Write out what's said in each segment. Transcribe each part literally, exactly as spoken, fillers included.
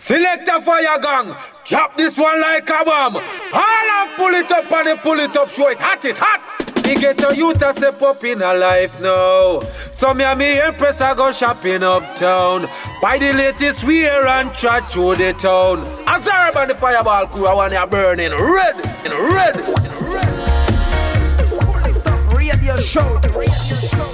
Select a fire gang, drop this one like a bomb. All and pull it up and they pull it up, show it hot, it hot. Me get a youth a step up in a life now. So me and me empress I go shopping uptown. Buy the latest wear and trot through the town. As I urban the fireball crew, I want you burning red, in red, in red. Radio show, radio show.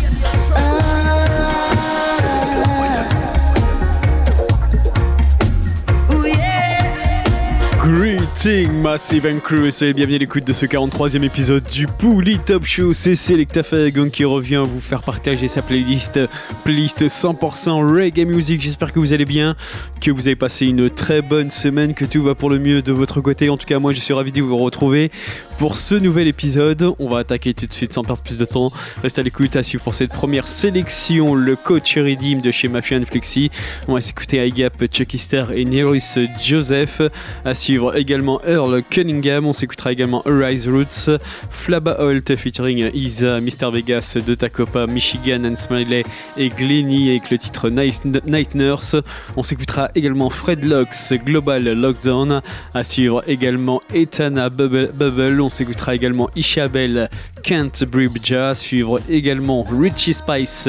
Greeting Massive and Crew, soyez bienvenue à l'écoute de ce quarante-troisième épisode du Pouli Top Show. C'est Selecta Fayagon qui revient vous faire partager sa playlist, playlist cent pour cent reggae music. J'espère que vous allez bien, que vous avez passé une très bonne semaine, que tout va pour le mieux de votre côté. En tout cas, moi je suis ravi de vous retrouver pour ce nouvel épisode. On va attaquer tout de suite sans perdre plus de temps. Restez à l'écoute, à suivre pour cette première sélection, le coach Redeem de chez Mafia and Flexi. On va s'écouter Igap, Chucky Star et Nerus Joseph. À suivre également Earl Cunningham. On s'écoutera également Arise Roots, Flabba Holt featuring Isa, Mister Vegas de Tacopa, Michigan and Smiley et Glenny avec le titre Night, Night Nurse. On s'écoutera également Fred Locks, Global Lockdown. À suivre également Etana Bubble. Bubble. On s'écoutera également Ishabel, Can't Breathe Jazz. Suivre également Richie Spice,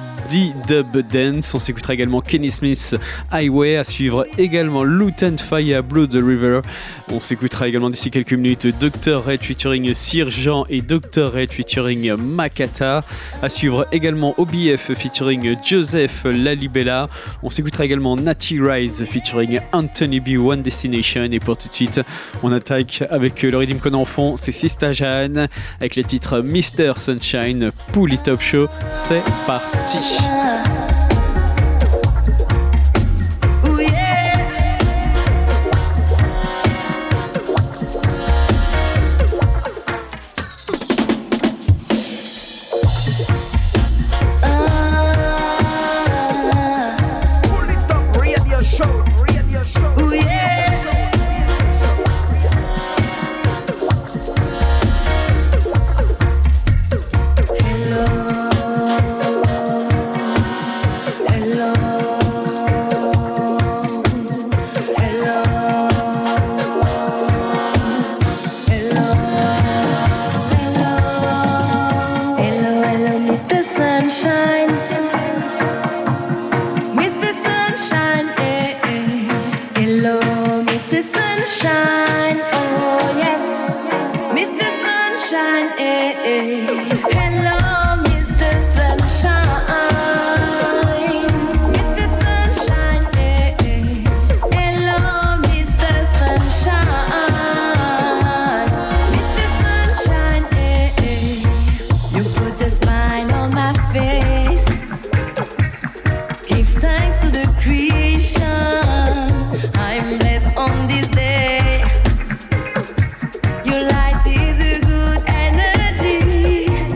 D-Dub Dance. On s'écoutera également Kenny Smith, Highway. À suivre également Lutan Fire, Blood River. On s'écoutera également d'ici quelques minutes docteur Red featuring Sir Jean et docteur Red featuring Makata. À suivre également O B F featuring Joseph Lalibela. On s'écoutera également Natty Rise featuring Anthony B, One Destination. Et pour tout de suite, on attaque avec le rythme qu'on a en fond, c'est Sista Jeanne avec le titre Mister Sunshine. Pouli Top Show, c'est parti. Your light is a good energy.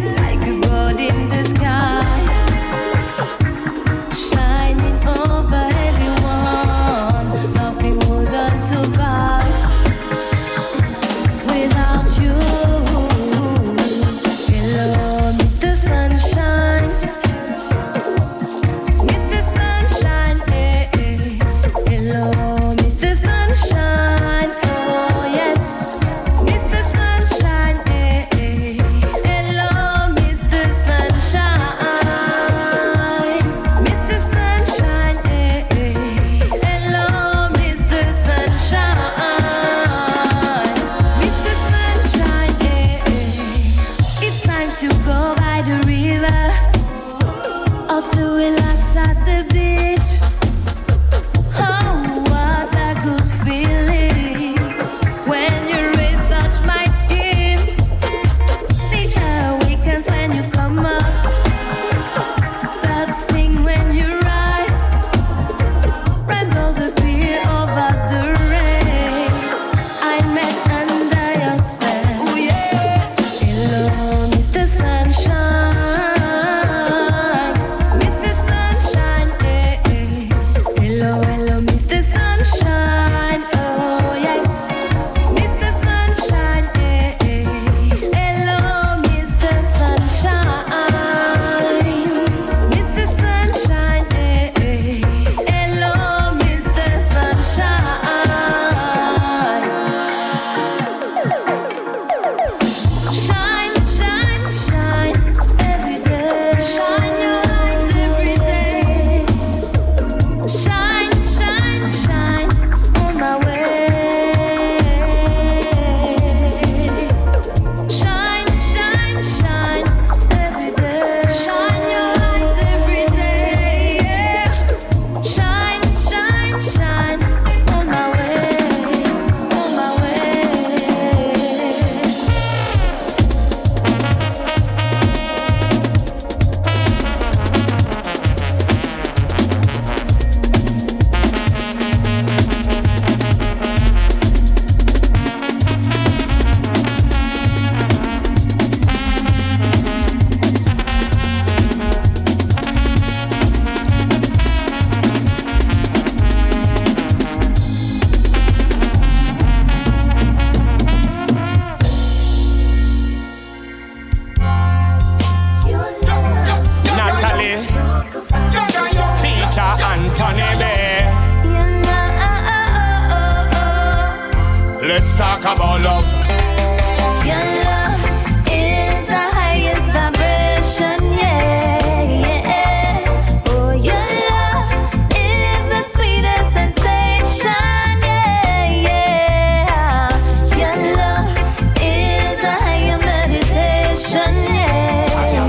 Let's talk about love. Your love is the highest vibration, yeah, yeah. Oh, your love is the sweetest sensation, yeah, yeah. Your love is a higher meditation, yeah, yeah.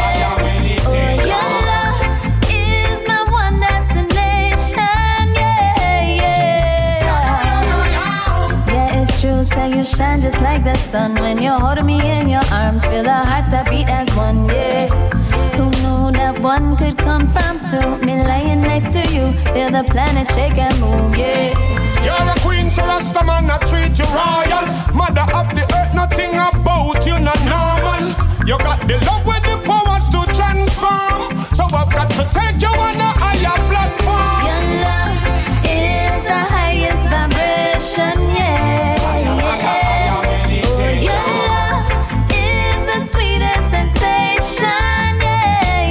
Oh, your love is my one destination, yeah, yeah. Yeah, it's true, say you shine just like the sun when you're holding me in your arms. Feel our hearts that beat as one, yeah. Who knew that one could come from two? Me lying next to you, feel the planet shake and move, yeah. You're a queen, so Rasta man, I treat you royal. Mother of the earth, nothing about you not normal. You got the love with the powers to transform. So I've got to take you on a higher platform. Your love is the highest vibration, yeah, yeah. Oh, your love is the sweetest sensation, yeah,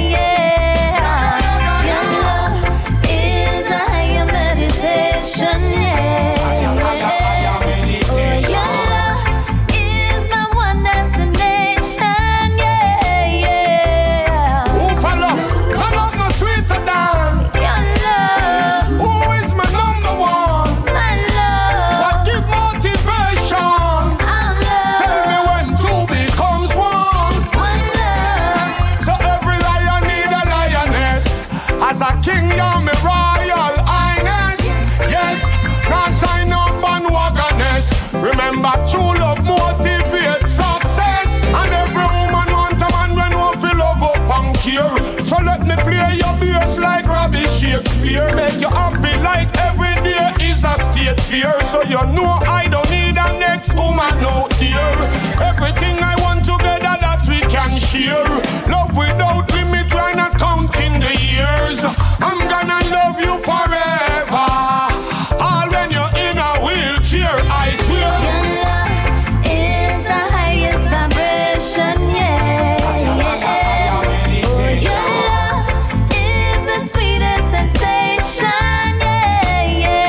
yeah. Your love is a higher meditation, yeah, yeah. Oh, your love is my one destination, yeah, yeah. Who for love? My love no sweeter than. Your love, Who is my number one? my love, What give motivation? our Tell me love, when two becomes one. one love. So every lion need a lioness. As a king, you're my royal highness. Yes, not time no bandwagoness. Remember, true love motivates success. And every woman want a man when one feel love up and care. So let me play your bass like Robbie Shakespeare. Make you happy like every day is a state fair. So you know I don't need a next woman out here. Everything I want together that we can share. Love without limit, we're not counting the years. I'm gonna love you forever. All when you're in a wheelchair, I swear. Your love is the highest vibration, yeah, yeah. Oh, your love is the sweetest sensation, yeah,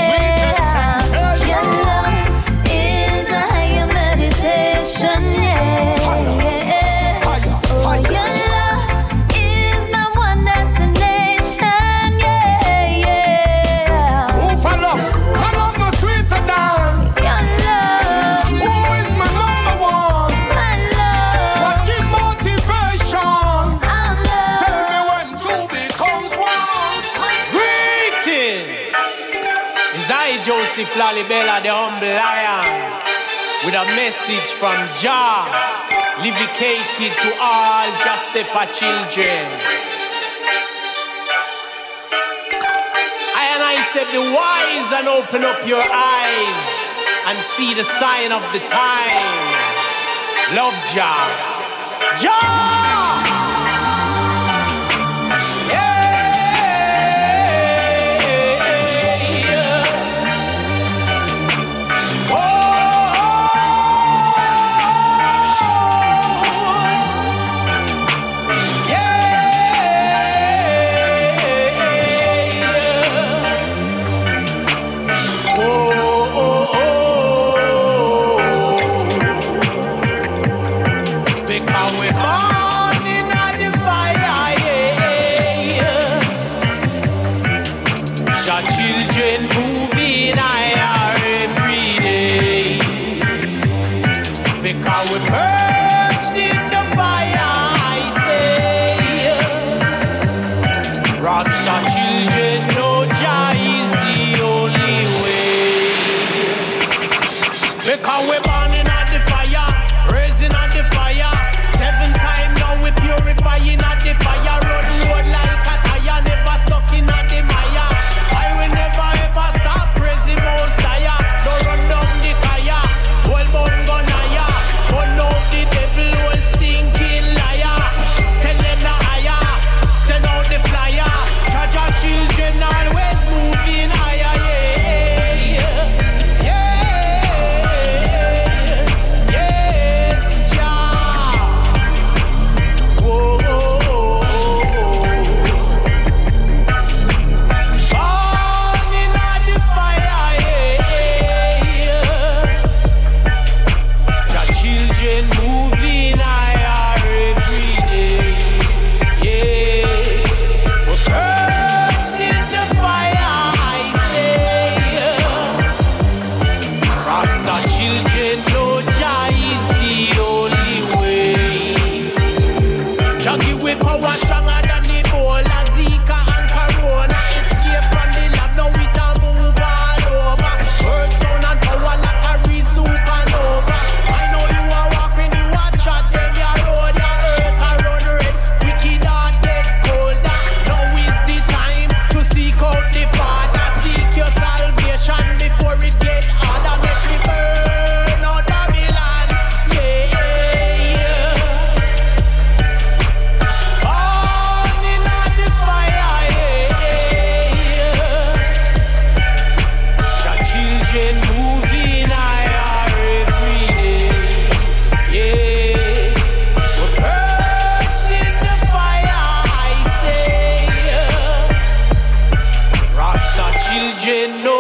yeah. Your love is a higher meditation, yeah, yeah. Oh, your love is my one destination, yeah, yeah. Who for love? My love no sweeter than. Your love, Who is my number one? my love, What give motivation? our Tell love. me when two becomes one. Greeting! Is I, Joseph Lalibela, the humble lion, with a message from Jah, dedicated to all Justepa children. I and I said, be wise and open up your eyes and see the sign of the time. Love Jah. Jah! Because we're born in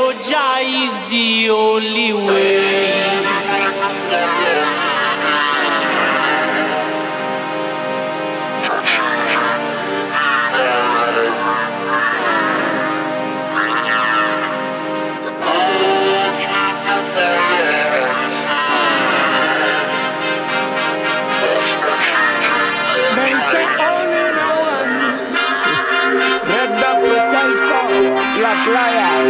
know Jah is the only way. Black lion.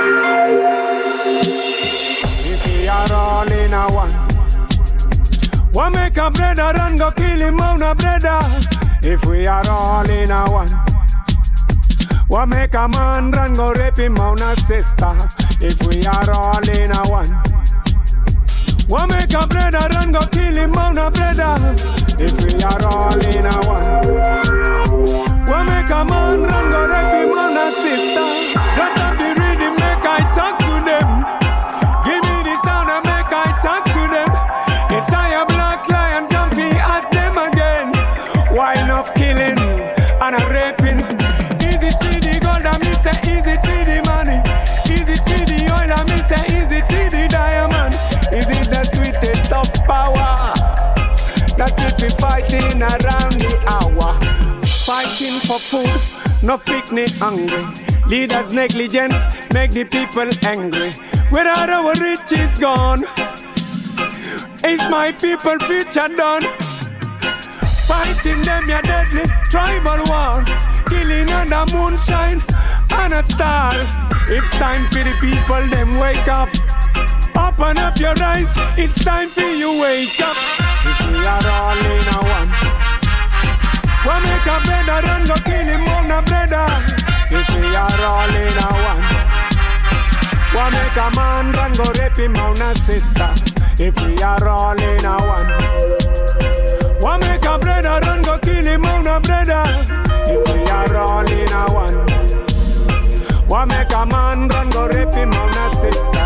If we are all in a one, what make a brother and go kill him on a brother? If we are all in a one, what make a man run go rape him on a sister? If we are all in a one, what make a brother run go kill him on a brother? If we are all in a one, what make a man run go rape him on a sister? Just stop the rhythm, make I talk to them. Give me the sound and make I talk to them. It's I a black lion, come fi ask them again. Why enough killing and a raping? Is it for the gold and me say is it for the money? Is it for the oil and me say is it for the diamond? Is it the sweetest of power that keep me fighting around the hour? Fighting for food, no picnic hungry. Leaders' negligence make the people angry. Where are our riches gone? Is my people future done? Fighting them your deadly tribal wars, killing under moonshine and a star. It's time for the people them wake up. Open up your eyes, it's time for you wake up. If we are all in a one, what make a brother and go kill him on a brother? If we are all in a one, what make a man run go rape him on a sister? If we are all in a one, what make a brother run go kill him on a brother? If we are all in a one, what make a man run go rape him on a sister?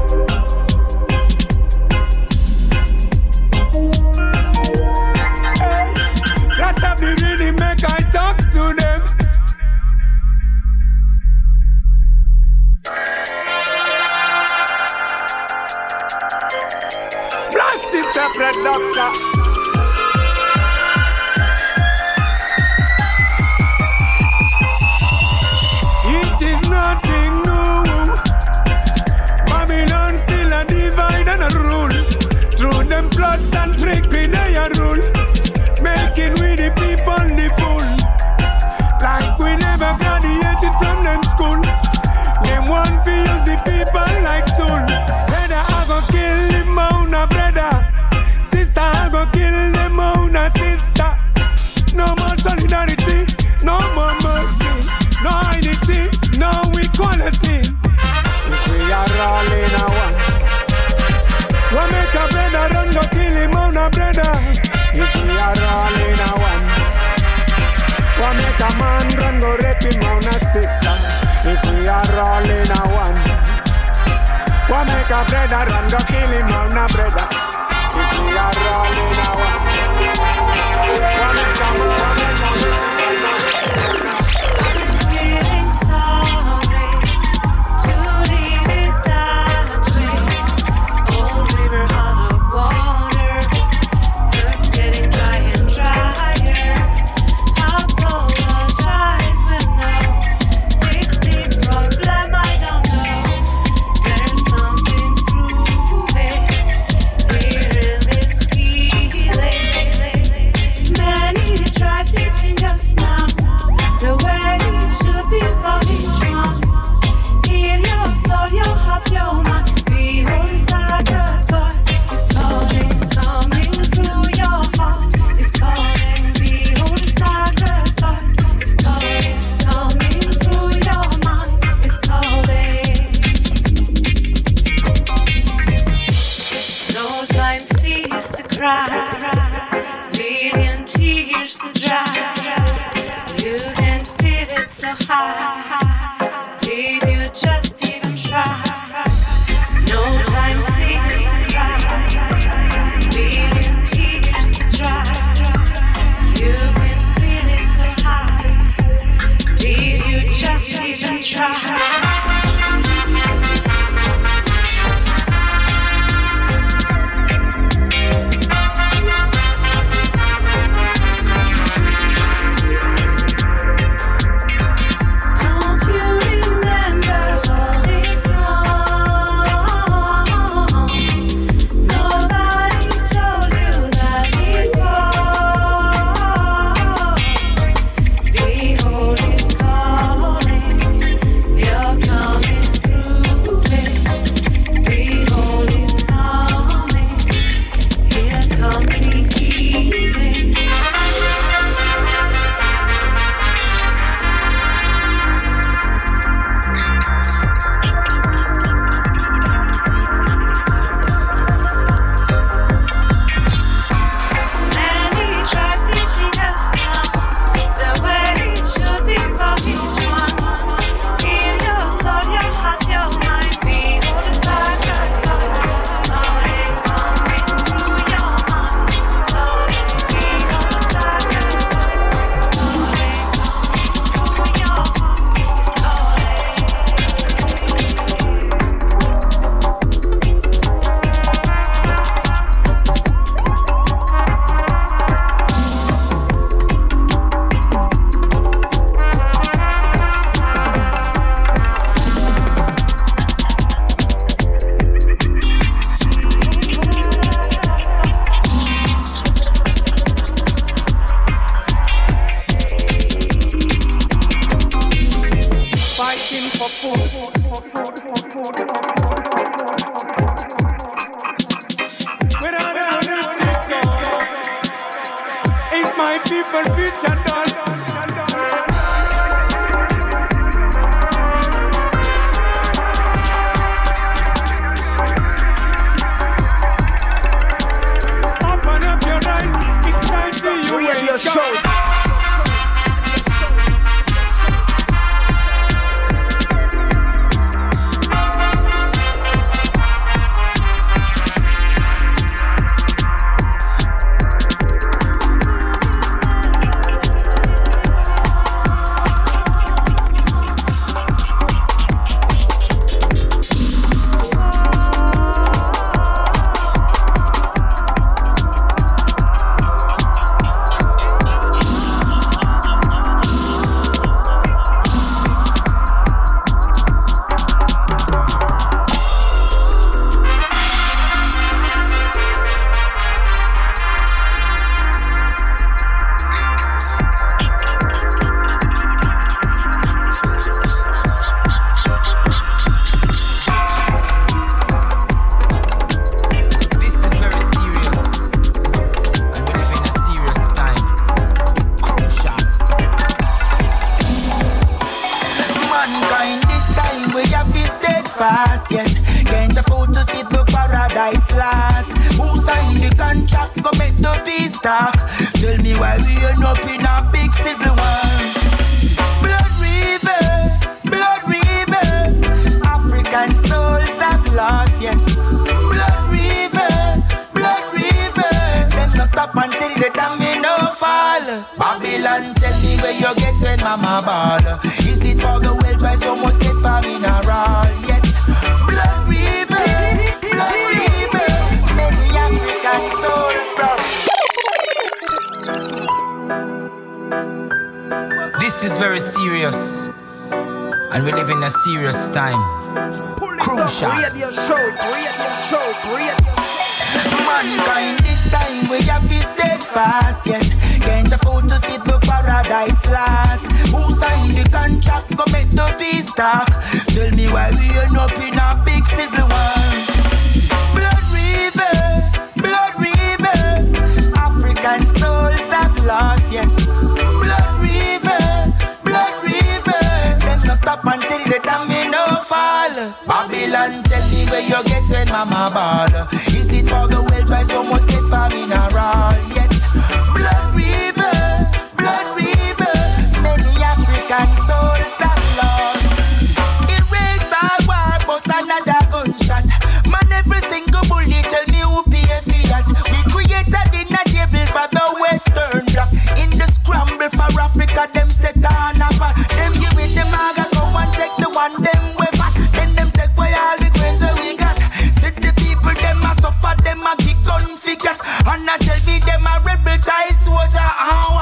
Just have the rhythm, make I talk to them. Plastic separate doctor. It is nothing new. Babylon still a divide and a rule. Through them plots and trickery they a rule, making we the people the fool. Like we never graduated from them schools. Them one feels the people like tool. Brother I go kill them on a brother. Sister I go kill them on a sister. No more solidarity, no more mercy, no unity, no equality. If we are all in a one, what make a brother run go kill him on a brother? If we are all in a one, what make a man run go rape him on a sister? If we are all in a one, what make a brother run go kill him on a brother? If we are all in a one, what make a man run go Feeling sorry to leave it that way. Old river out of water, earth getting dry and drier. Apologize when no fix the problem. I don't know. There's something proving here in this feeling. Many tried teaching us now the It's my people future done. Open up your eyes, it's time for you. Radio show. Fast, yes, can't afford to see the paradise last. Who signed the contract? Go make the peace talk. Tell me why we end up in a big civil war. Blood river, blood river. African souls have lost, yes. Blood river, blood river. Them no stop until the domino fall. Babylon, tell me where you get when mama ball. Is it for the wealth why so much get for mineral? Yes. Blood river, blood river, many African souls up. This is very serious, and we live in a serious time. Crucial. Radio show, radio show, radio show. Mankind, this time we have to steadfast, yes. Can't afford to see the paradise last. Who signed the contract? Go make the peace talk. Tell me why we end up in a big civil war. Blood river, blood river. African souls have lost, yes. Blood river, blood river. Them no stop until the domino fall. Babylon, tell me where you get when mama ball. Is it for the wealth why so much get for mineral? Yes. Blood river, blood river. Many African souls have lost. Erase all war, bust another gunshot. Man, every single bullet tell me who pay for that. We created in a table for the Western Bloc. In the scramble for Africa, them set on a pot. Them give it them maga, go and take the one them way fat. Then them take away all the grains that we got. Still the people them a suffer, them a kick gun figures. And I tell me them a rebel child soldier. Oh,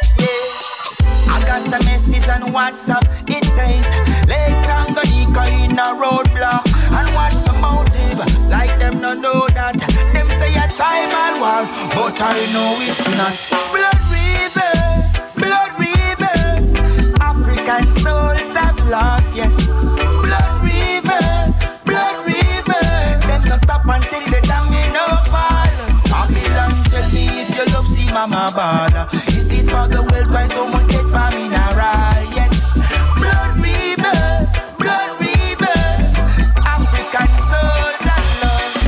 yeah. I got a message on WhatsApp. It says Lake Tanganyika in a roadblock. And what's the motive? Like them no know that. Them say a time and war, but I know it's not. Blood river, blood river. African souls have lost, yes. Blood river, blood river. Them no stop until the domino fall. Babylon, tell me if you love see mama ball. Is it for the world why someone get for mineral? Yes. Blood river, blood river. African souls are lost.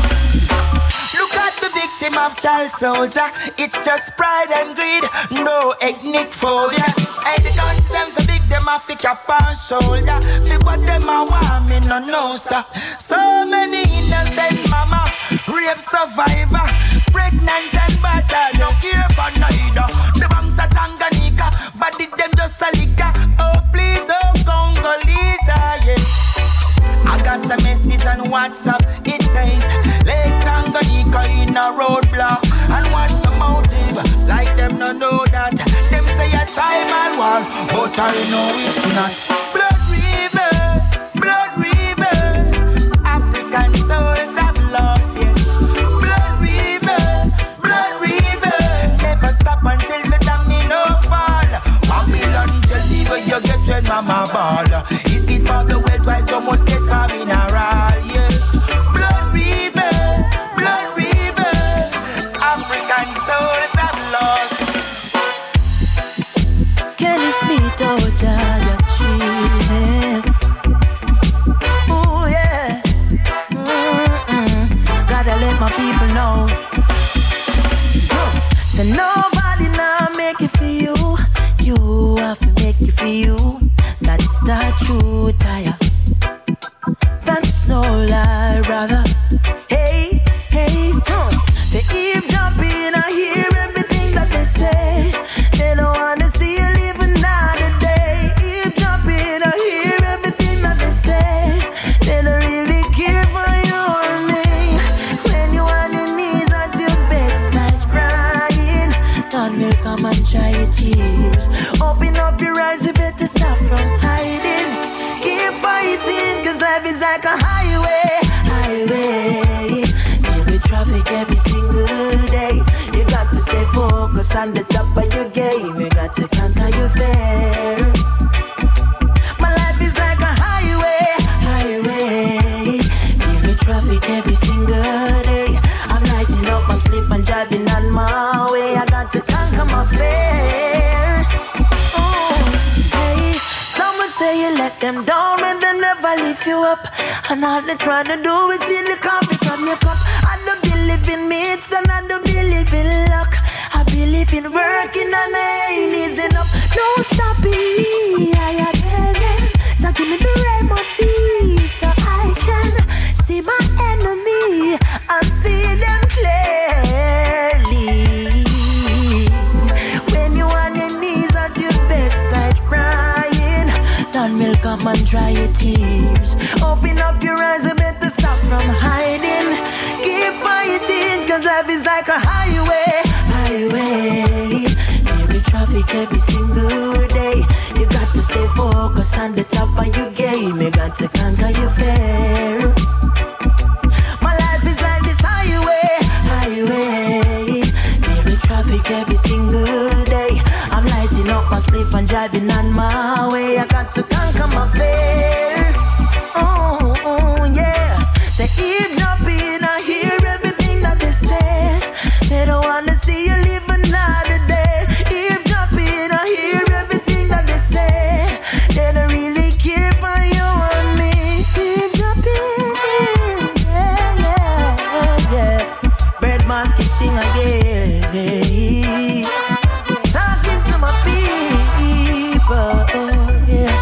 Look at the victim of child soldier. It's just pride and greed, no ethnic phobia. Hey, the guns them so big, them a fi cap on shoulder. Fi what them a want, me no know, sir. So many innocent mama, rape survivor, pregnant and battered, don't care for neither. The banks of Tanganyika, but did them just a liquor. Oh please, oh Congolese, yeah. I got a message on WhatsApp. It says Lake Tanganyika in a roadblock. And what's the motive? Like them no know that. Them say a time and war, but I know it's not. Blood river, blood river. African souls have lost, yes. Blood river, blood river. Never stop until the domino fall. Babylon, tell me where you get when mama ball. Is it for the wealth why so much get for mineral? brother. Hey, hey, huh. Say eavesdropping, I hear everything that they say. They don't wanna see you live another day. Eavesdropping, I hear everything that they say. They don't really care for you or me. When you on your knees at your bedside crying, God will come and dry your tears. Open up your eyes, you better stop from hiding. Keep fighting, cause life is like a highway, highway. Filled with traffic every single day. You got to stay focused on the top of your game. You got to conquer your fear. My life is like a highway, highway. Filled with traffic every single day. I'm lighting up my spliff and driving on my way. I got to conquer my fear. Oh, hey. Someone say you let them down and they never lift you up. And all they trying to do is steal the coffee from your cup. I don't believe in myths and I don't believe in luck. I believe in working and I ain't easy enough. No stopping me, I tell them. So give me the remedy so I can see my enemy and see them clearly. When you on your knees at your bedside crying, God will come and dry your tears. Open up your eyes and better stop from hiding. Keep fighting, cause life is like a highway, highway. Every traffic every single day. You got to stay focused on the top of your game. You got to conquer your fear. My life is like this highway, highway. Every traffic every single day. I'm lighting up my spliff and driving on my way. I got to conquer my fear. Oh, oh yeah. Say eavesdropping, I hear everything that they say. They don't wanna see you live another day. Eavesdropping, I hear everything that they say. They don't really care for you and me. Eavesdropping, yeah, yeah, yeah. Bird Mask can sing again. Talking to my people, yeah.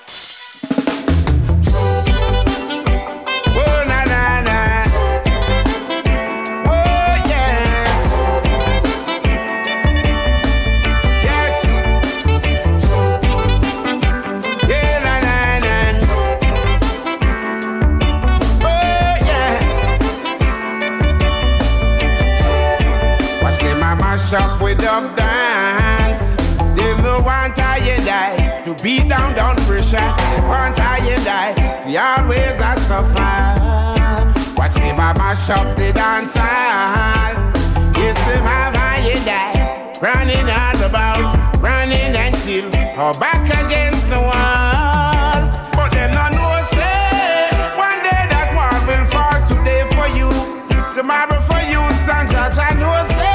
Up with up dance. They no want I you die to beat down down pressure. They want I you die. We always a suffer. Watch them a mash up the dance hall. Yes, them have I you die. Running all about, running until or back against the wall. But them not know say one day that wall will fall. Today for you, tomorrow for you, San Judge. I know say.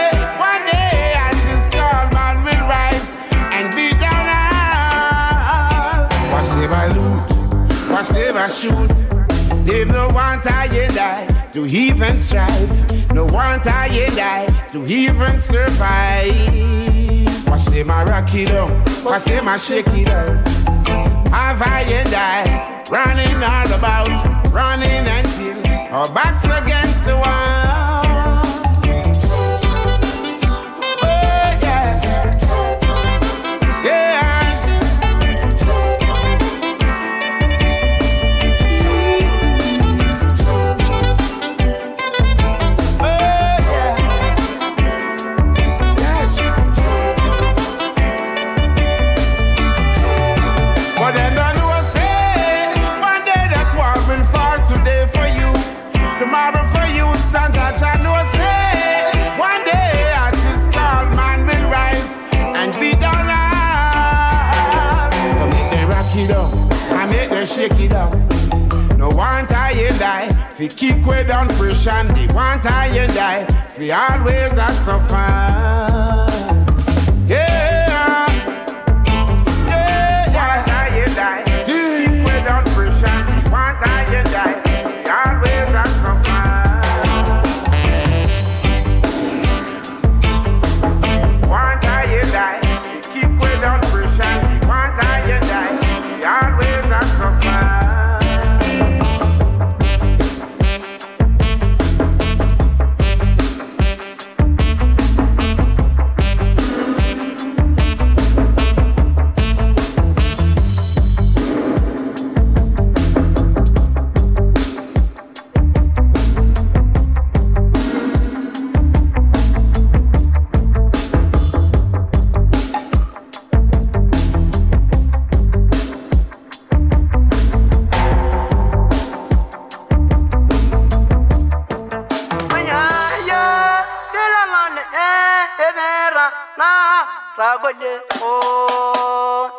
Watch them a shoot. They no want I and die to even strive. No want I and die to even survive. Watch them a rock it up. Watch them a shake it up. Have I and I running all about, running until our backs against the wall. Tomorrow for you, San Judge, I know say one day at this tall man will rise and be down all. So make them rock it up and make them shake it up. No want I and die, we keep way down pressure. They want I and die, we always a suffer. Yeah, yeah, yeah. Want I and die, keep way down pressure. They want I and die. Always a suffer. One time you die, keep way down pressure. One time you die, always a suffer. Asagode, oh.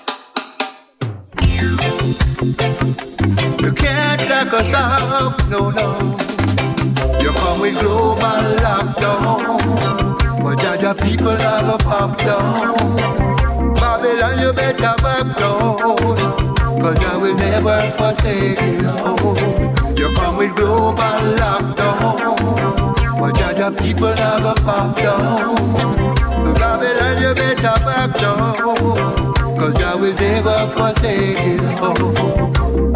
You can't lock us off, no, no. You come with global lockdown, but other people are gonna pop down. Babylon, you better back down, cause I will never forsake you. You come with global lockdown, but other people are gonna pop down. Babylon, you better back down, cause I will never forsake you.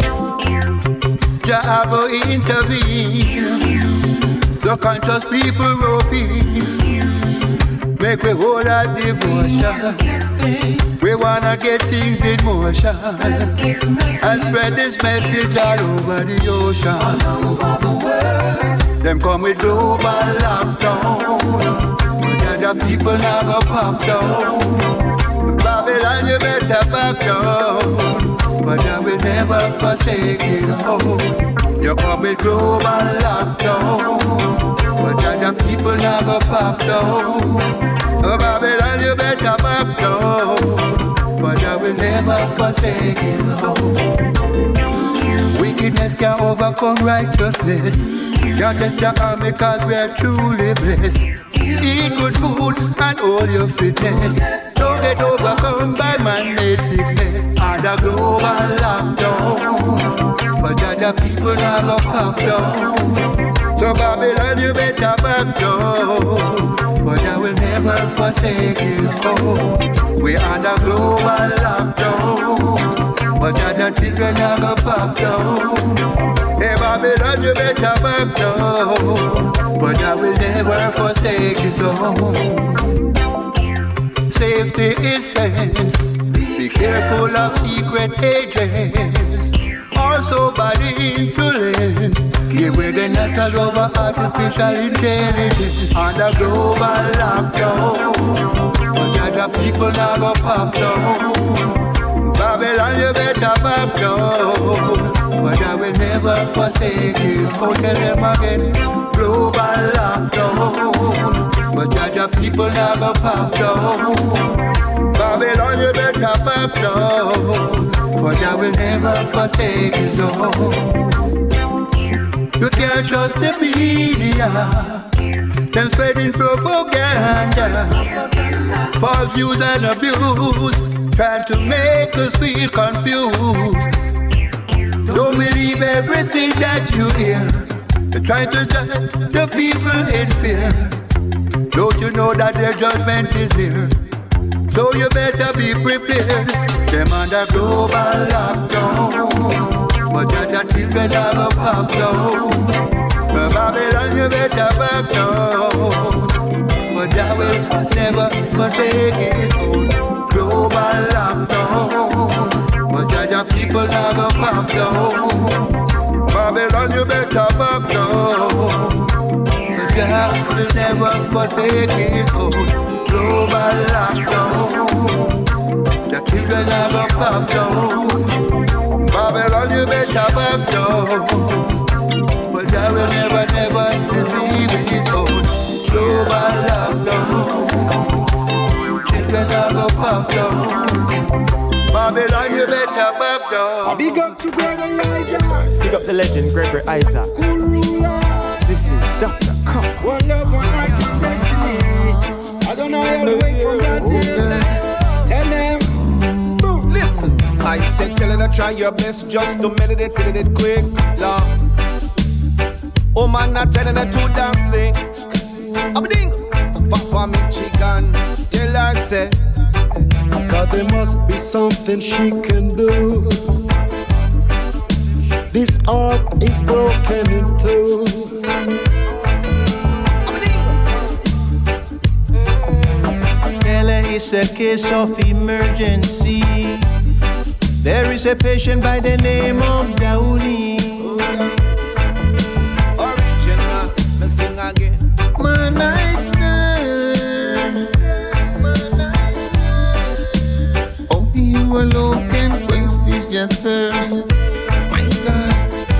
Jah will intervene. The conscious people roping, make we hold our devotion. We wanna get things in motion and spread this message all over the ocean. Them come with global lockdown, but other people now go pop down. Babylon, you better back down, but I will never forsake you. You come with global lockdown, but other people now go pop down. Oh, Babylon, you better back down, but I will never forsake you. Wickedness can overcome righteousness. Can't test the army cause we are truly blessed. Eat good food and all your fitness. Don't get overcome by man-made sickness. Under global lockdown, but other people now go pop down. So Babylon, you better back down, but I will never forsake you. We under global lockdown, but other children now go pop down. Hey Babylon, you better back down, but I will never forsake you. Safety is sense. Be careful of secret agents, also bad influence. Give away the natural over artificial intelligence. Under global lockdown, but other people now go pop down. Babylon, you better back down, but I will never forsake you. Oh, tell them again, global lockdown, but other people now go pop down. Babylon, you better back down, but I will never forsake you. You can't trust the media, them spreading propaganda, false views and abuse, trying to make us feel confused. Don't believe everything that you hear. They're trying to judge the people in fear. Don't you know that their judgment is near? So you better be prepared. Them under global lockdown, but other children are gonna pop down. But Babylon, you better back down, but I will never forsake it. Global lockdown, but other people are gonna pop down. Babylon, you better back down, but I will never forsake it. Global lockdown, the children are gonna pop down. Babylon, you better back down, but I will never, never deceive it. Global lockdown, children are gonna pop down. Babylon, you better back down. Big up to Gregory Isaac. Big up the legend Gregory Isaac. This is Doctor Cup. One love, one heart, one destiny. I don't know how to wait from Brazil. Tell them. Boom, listen. I said, tell her to try your best just to meditate till it quick. Love. Oh man, not telling her to dancing. I'm ding. Papa me chicken. Tell her, say. God, there must be something she can do. This heart is broken in two. It's a case of emergency. There is a patient by the name of Downey. Original, me sing again. My nightmare, my nightmare. Oh, you alone can quench this yesterday. My God,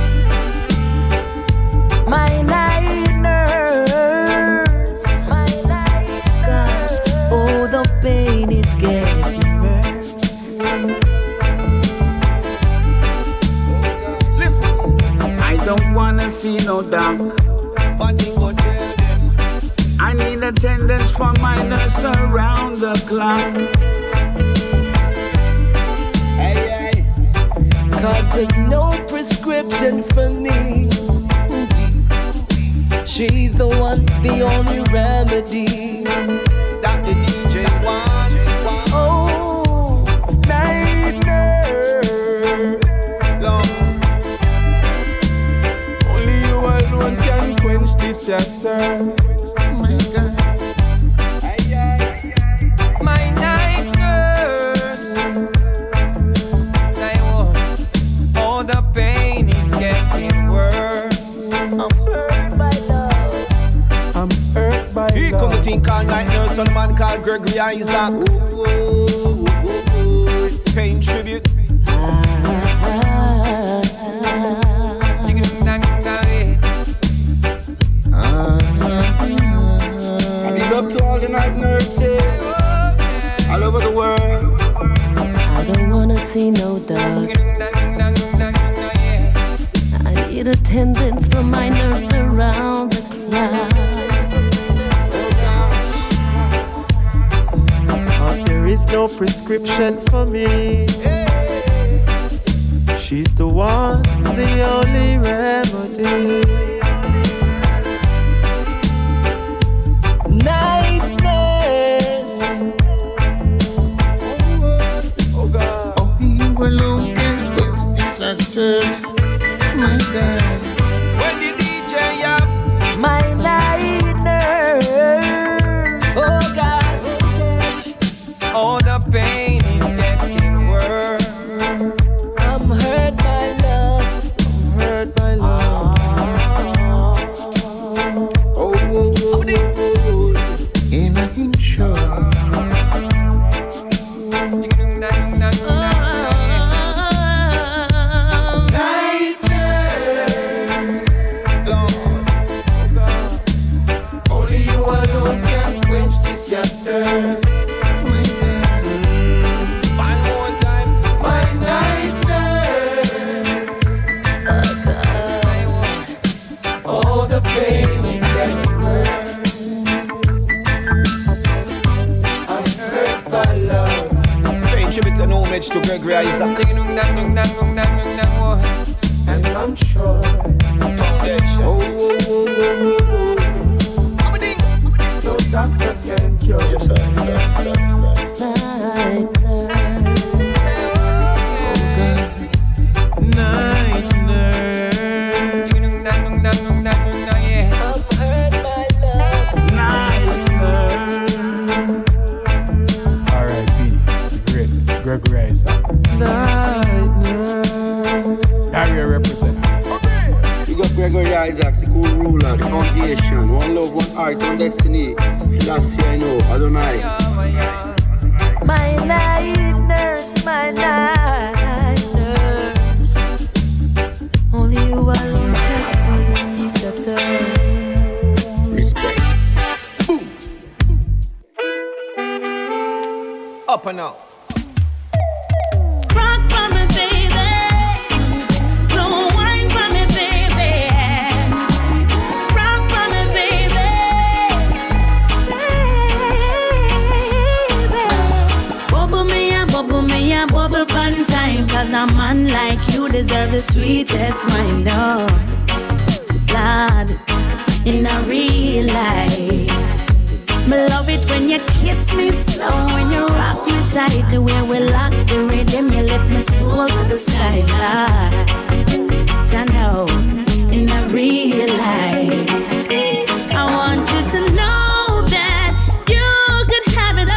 My night nurse, my night nurse. Oh, the pain see no dark. I need attendance for my nurse around the clock. Hey, hey. Cause there's no prescription for me. She's the one, the only remedy that the D J wants. Oh, night nurse. Lord. Only you alone can quench this chapter. My God. Hey, hey. My night nurse. I want all the pain is getting worse. I'm hurt by love. I'm hurt by He love. come to think called night nurse on a man called Gregory Isaac. Ooh, ooh, ooh, ooh, ooh. Paying tribute. I big up to all the night nurses all over the world. I don't wanna see no dog. I need attendance from my nurse around the clock. Cause there is no prescription for me. She's the one, the only remedy. Night nurse. Oh God. Oh, you alone can fix this actor. My God. When the D J up, my night nurse. Oh gosh, all the pain is getting worse. I'm hurt by love. I'm hurt by love. Oh, oh, oh, oh, oh. And I ain't sure. Night nurse. Lord. Oh God. Only you alone can quench this your thirst. My God. One more time. My night nurse. All the pain is getting worse. I'm hurt by love. Paying tribute and homage to Gregory Isaac. And I'm sure foundation. Oh, oh, oh, oh, oh, oh. No doctor can cure. Yes, sir. Night nurse. Night nurse. I'm hurt by love. Night nurse. R I P the great Gregory Isaac. Night nurse. Area represent. You got Gregory Isaacs, the cool ruler, the foundation. One love, one heart, one destiny. Selassie, I know, Adonai. My night nurse, my night nurse. Only you alone can fix these letters. Respect. Up and out. Rock for me, baby. Slow wine for me, baby. Rock for me, baby. Baby. Bubble me and bubble me and bubble one time. Cause a man like you deserve the sweetest wine. No, blood in a real life. Me love it when you kiss me slow, when you rock me tight. The way we lock the rhythm, you lift my soul to the sky. I know, in a real life, I want you to know that you could have it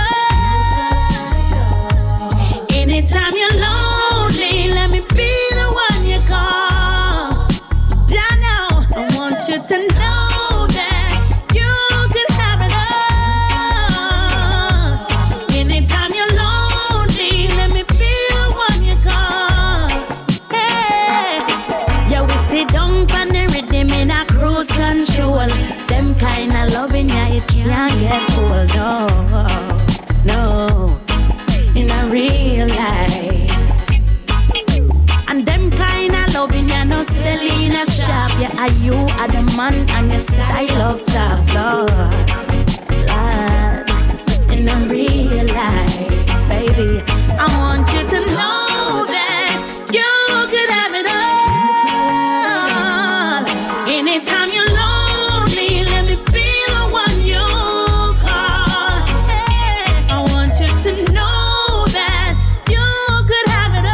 all. Anytime you're lonely, let me be the one you call. I know, I want you to know. Control them kind of loving, yeah, it can't get old. No, no, in a real life. And them kind of loving, yeah, no selling a shop, yeah, are you are the man and your style of talk, Lord. Lord, in a real life, baby, I want you to know that you could have it all. Anytime you're lonely, let me be the one you call. Hey, I want you to know that you could have it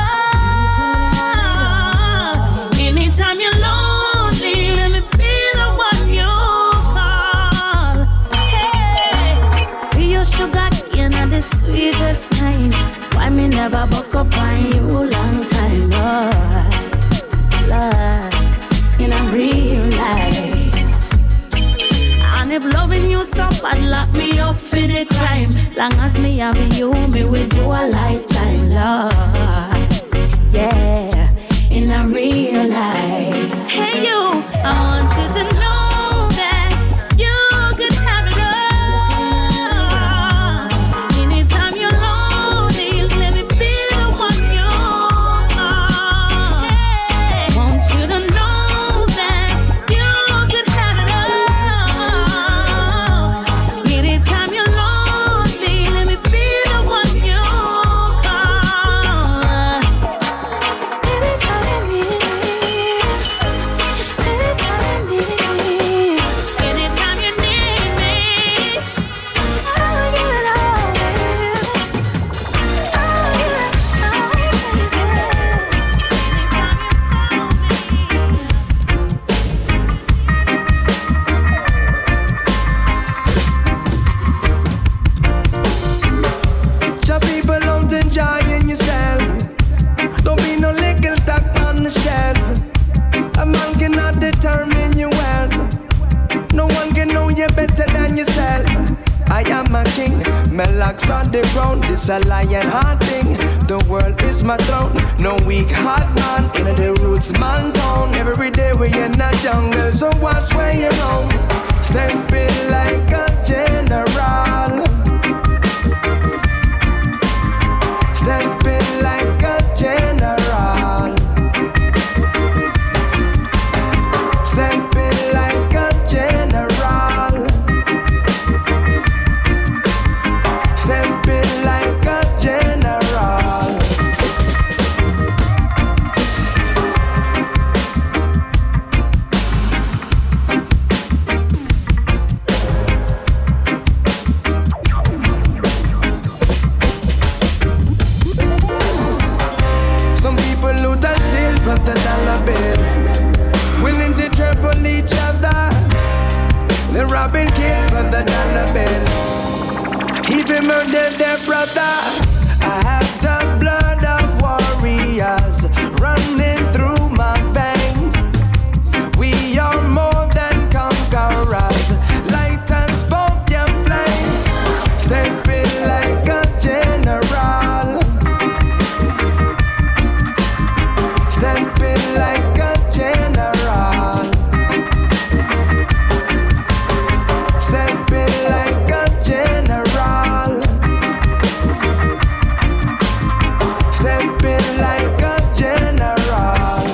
all. Anytime you're lonely, let me be the one you call. Hey, feel your sugar cane and the sweetest kind. Why me never buck up on you long time, Lord, Lord, in a real life. And if loving you so bad, lock me up for the crime. Long as me have you, me will do a lifetime, Lord. Yeah, in a real life. Hey you, I want you to know that you could have it all. Anytime you're lonely, let me be the one you are. Hey, want you to know that you could have it all. Anytime you're lonely, let me be the one you call. Anytime you need me, anytime you need me, anytime you need me, I'll give it all, baby. I'll give it all, Some people don't enjoying yourself. Don't be no little stuck on the shelf. A man cannot determine your wealth. No one can know you better than yourself. I am a king, my locks on the ground. This a lion heart thing. The world is my throne. No weak heart man in the roots man town. Every day we in the jungle, so watch where you roam. Stepping like a general. Stepping like a general. Stepping like a general. Stepping like a general. Some people loot and steal for the dollar bill, willing to trample each other. They rob and kill for the dollar bill, even murder their brother. I have the blood of warriors running through my veins. We are more than conquerors, light and smoke and flames. Stepping like a general. Stepping like a general. Stepping like a general. Stepping like a general.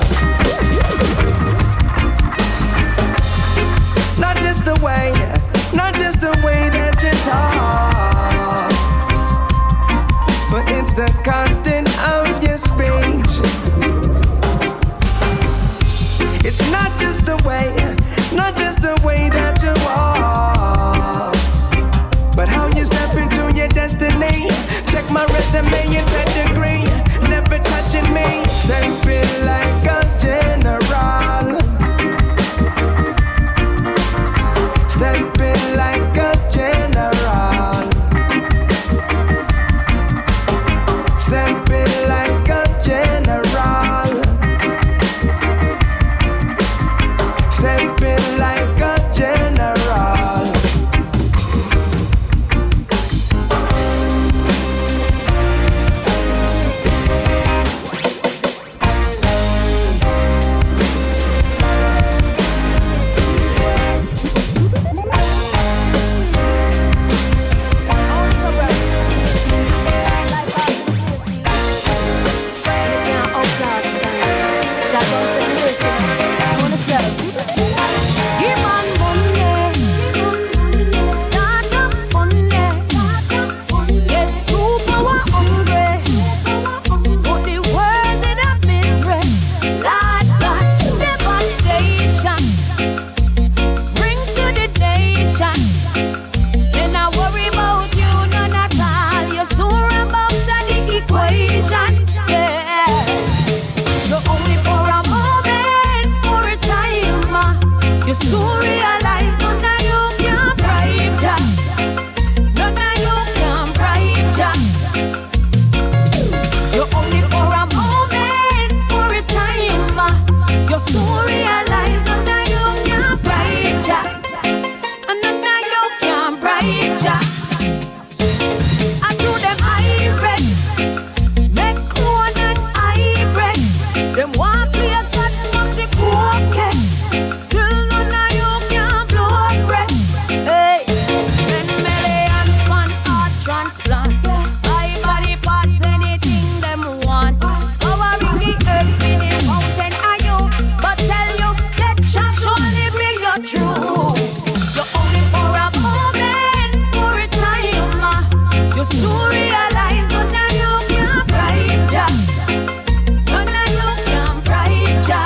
Not just the way, not just the way that you talk, but it's the content of your speech. It's not just the way, not just the way that you walk, but how you step into your destiny. Check my resume and pedigree, never touching me. Stepping like a general. Stepping like a general. Stepping like a general. Stepping like a general. realize none of you can bribe Jah. None of you can bribe Jah. You're only for a moment, for a time. You soon realize none of you can bribe Jah. And none of you can bribe Jah. I do them hybrid, make corn and hybrid. Them want play a God music okay. Still none of you can blow breath. Hey, ten millions man heart transplant. Buy body parts, anything them want. Covering the earth in the mountain are you. But tell you, that shall surely bring you through. You're only for a moment, for a time. You soon realize none of you can bribe Jah. None of you can bribe Jah.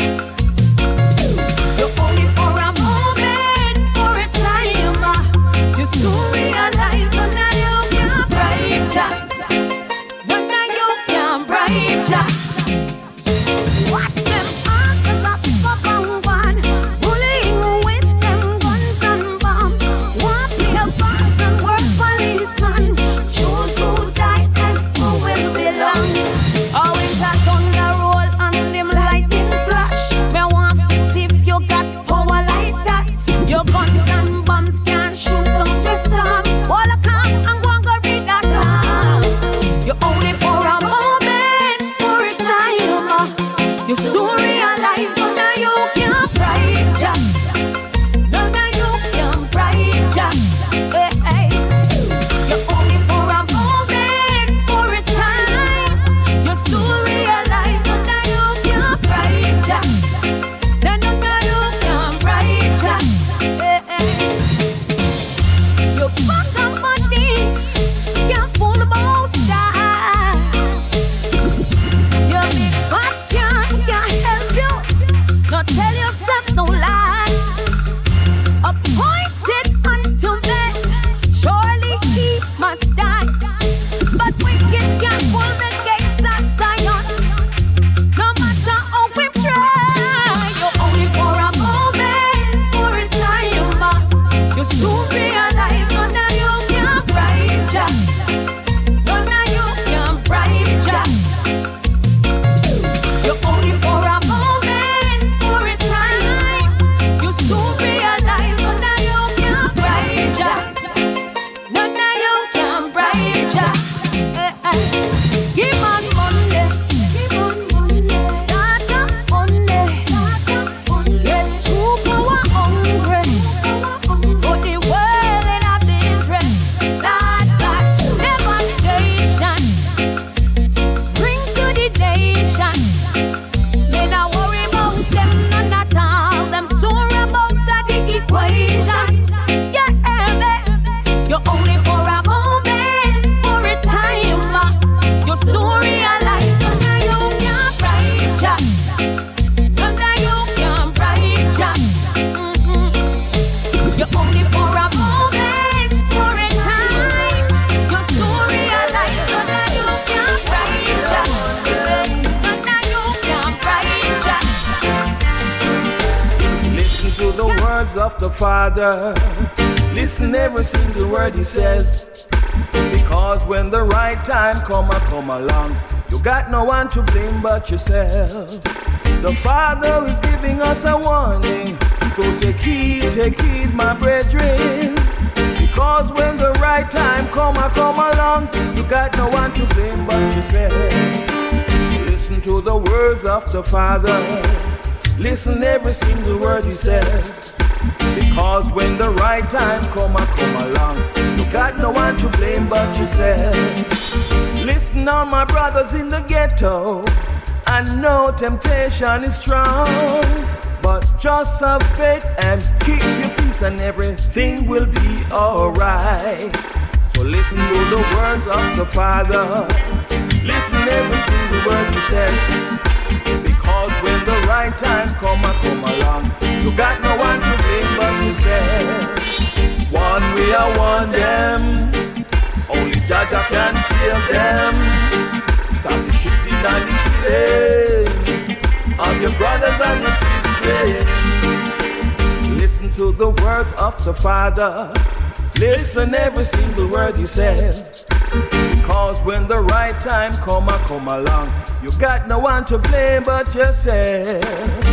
You're only for a moment, for a time. You soon realize none of you can bribe Jah. None of you can bribe Jah. Watch them archers up up and one, bullying with them guns and bombs. Want be a boss and work policeman. Choose who die and who will belong. Always a thunder roll and them lightning flash. Me want to see if you got power like that. Your guns and bombs can't shoot down the storm. All a calm and go and go read that song. You're only for a moment, for a time. You soon realize none of you can bribe Jah. None of you can bribe Jah. Hey, hey. You're only for a moment, for a time. You soon realize none of you can bribe Jah. Say none of you can bribe Jah. Hey, hey. You fuck up money, can't fool the most die. Your big fat can can't help you. Not tell yourself no lie. Appointed unto men, surely he must die. But wicked can't pull the gates of Zion. No matter how we try, you're only for a moment, for a time. You soon realize none of you can bribe Jah. None of you can bribe Jah. You're only for a moment, for a time. You soon realize none of you can bribe Jah. None of you can bribe Jah. Eh, eh. Give on Monday, give on Monday. Start up Monday, start up Monday. Get true power hungry. Put the world in a misery. Lord God, devastation. Bring to the nation. Me not worry about them none at all. Them sore about the equation. Yeah, baby. You're only for a moment, for a time. You soon realize none of you can bribe Jah. None of you can bribe Jah. Mm-mm. You're only for a moment, for a time. You soon realize none of you can bribe Jah. None of you can bribe Jah. Listen to the words of the Father. Listen every single word he says. Because when the right time come, I come along. You got no one to blame but yourself. The Father is giving us a warning. So take heed, take heed, my brethren. Because when the right time come, I come along. You got no one to blame but yourself. So listen to the words of the Father. Listen every single word he says. Because when the right time come, I come along. You got no one to blame but yourself. Listen on my brothers in the ghetto. I know temptation is strong, but just have faith and keep your peace and everything will be alright. So listen to the words of the Father. Listen every single word he says. Because when the right time come, I come along. You got no one to blame but yourself. One way I want them. Only Jaja can save them. Stop the shooting and the killing of your brothers and your sisters. Listen to the words of the Father. Listen every single word he says. Because when the right time come, I come along, you got no one to blame but yourself.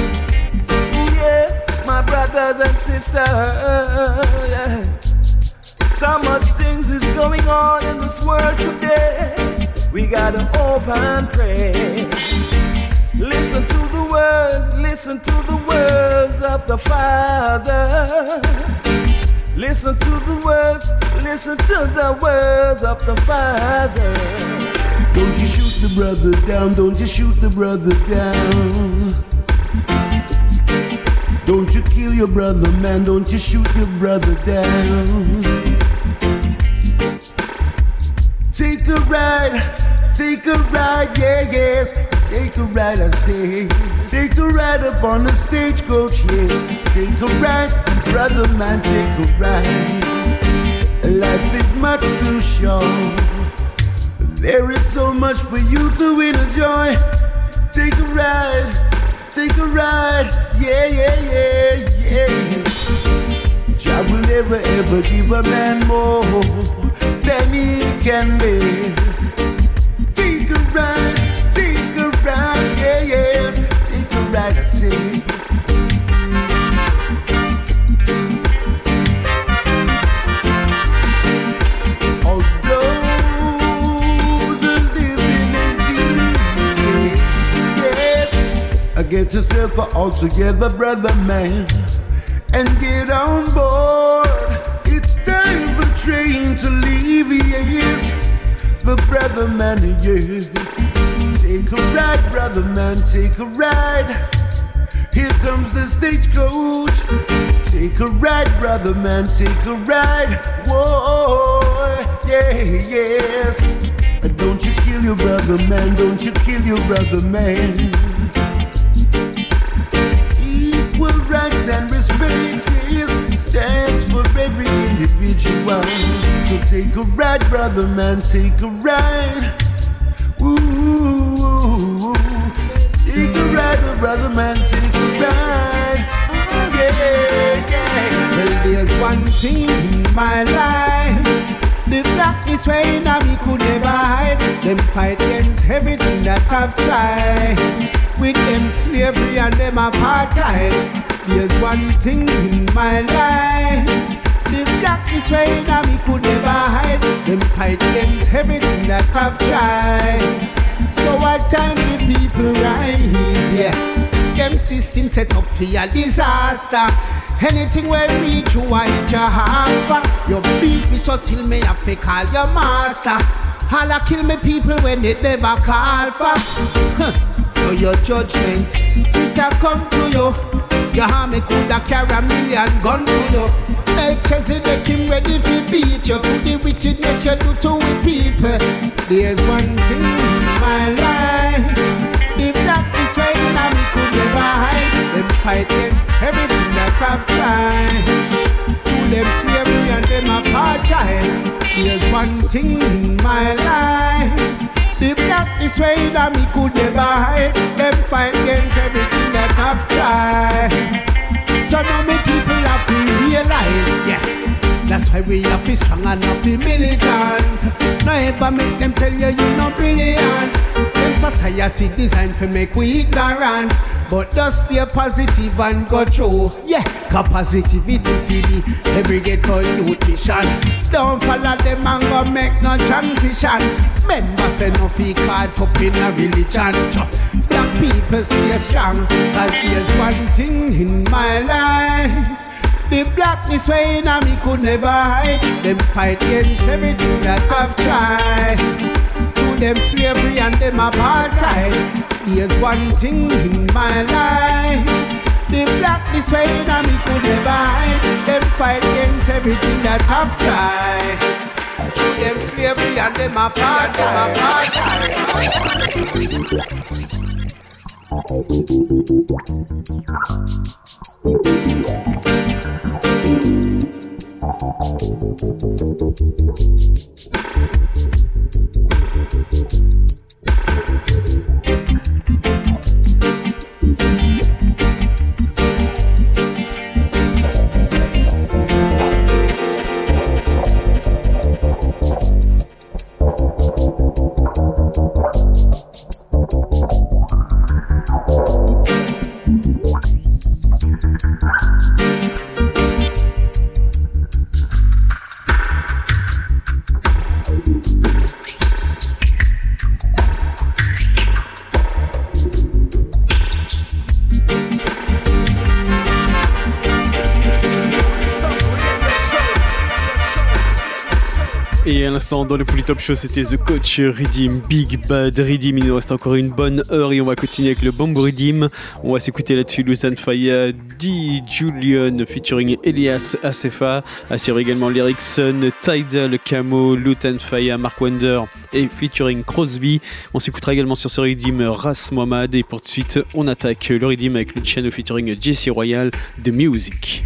Yeah, my brothers and sisters, yeah. So much things is going on in this world today. We gotta hope and pray. Listen to the words, listen to the words of the Father. Listen to the words, listen to the words of the Father. Don't you shoot the brother down, don't you shoot the brother down. Don't you kill your brother, man, don't you shoot your brother down. Take a ride, take a ride, yeah, yes. Take a ride, I say. Take a ride up on the stagecoach, yes. Take a ride, brother man, take a ride. Life is much too short. There is so much for you to enjoy. Take a ride, take a ride, yeah, yeah, yeah, yeah. Jah will never ever give a man more than he can bear. Take a ride, take a ride, yeah, yes. Take a ride, I say. Although the living ain't easy, yes, get yourself all together, brother man, and get on board. It's time for train to leave, yes. The brother man, yeah. Take a ride, brother man, take a ride. Here comes the stagecoach. Take a ride, brother man, take a ride. Whoa, yeah, yes. Don't you kill your brother man, don't you kill your brother man. Equal rights and respect stands for every individual. So take a ride, brother man, take a ride. Ooh, take a ride, brother man, take a ride. Yeah, yeah. Well, there's one thing in my life. The blackness way now we could never hide. Them fight against everything that I've tried. With them slavery and them apartheid. There's one thing in my life. The blackness way now we could never hide. Them fight against everything that I've tried. So what time the people rise, yeah. Them system set up for a disaster. Anything where reach you, I hit your hands for. You beat me so till me have to call your master. All I kill me people when they never call for. Huh. So your judgment, it a come to you. Your army coulda carry a million gun to you. Melchizedek him ready to beat you to the wickedness you do to we people. There's one thing in my life. The blackness way now we could never hide. Them fight against everything that I've tried. To them slavery and them apartheid. There's one thing in my life. The blackness way that we could never hide. Them fight against everything that I've tried. So now me people have to realize, yeah. That's why we have to be strong and not be militant. No ever make them tell you you're not brilliant. Them society designed to make we ignorant. But just stay positive and go through. Yeah, cause positivity for the every ghetto youth mission. Don't follow them and go make no transition. Members say no fee caught up in a religion. Black people stay strong. Cause there's one thing in my life. The blackness way now me could never hide. Them fight against everything that I've tried. To them slavery and them apartheid. There's one thing in my life. The blackness way now me could never hide. Them fight against everything that I've tried. To them slavery and them apartheid. Et à l'instant, dans le Polytop Show, c'était The Coach Redeem, Big Bad Redeem. Il nous reste encore une bonne heure et on va continuer avec le Bamboo Redeem. On va s'écouter là-dessus Lutan Fyah, D. Julian featuring Elias Acefa. Assure également l'Erickson, Tidal, Camo, Lutan Fyah, Mark Wonder et featuring Crosby. On s'écoutera également sur ce Redeem Ras Mohammed. Et pour tout de suite, on attaque le Redeem avec Luciano featuring Jesse Royal, The Music.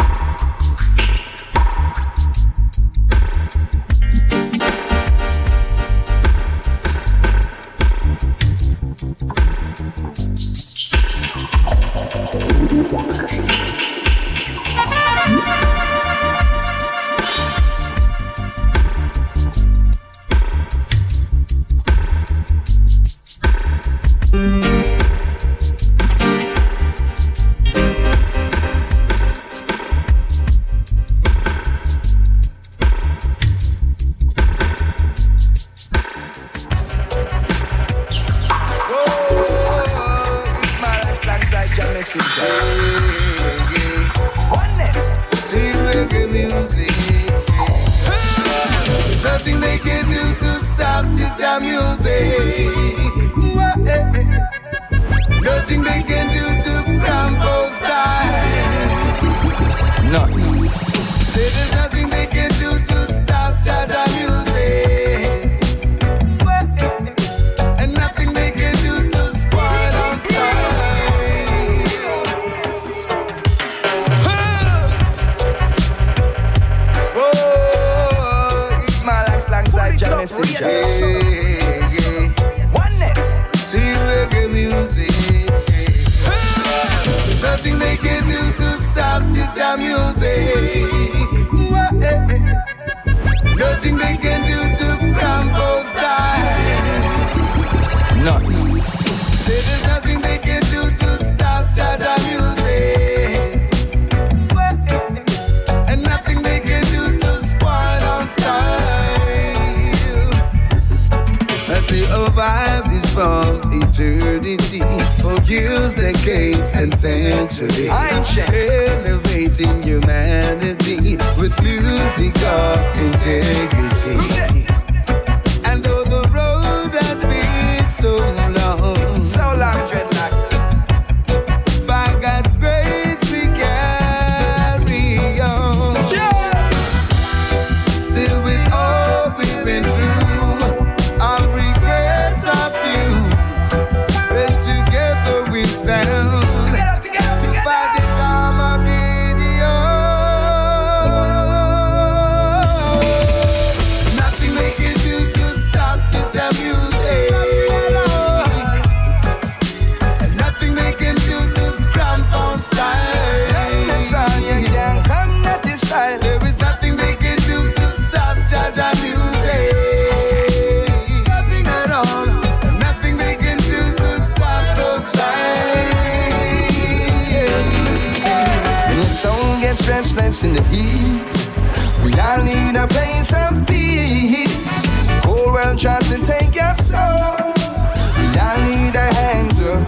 In the heat, we all need a place of peace. Cold world tries to take your soul. We all need a hand to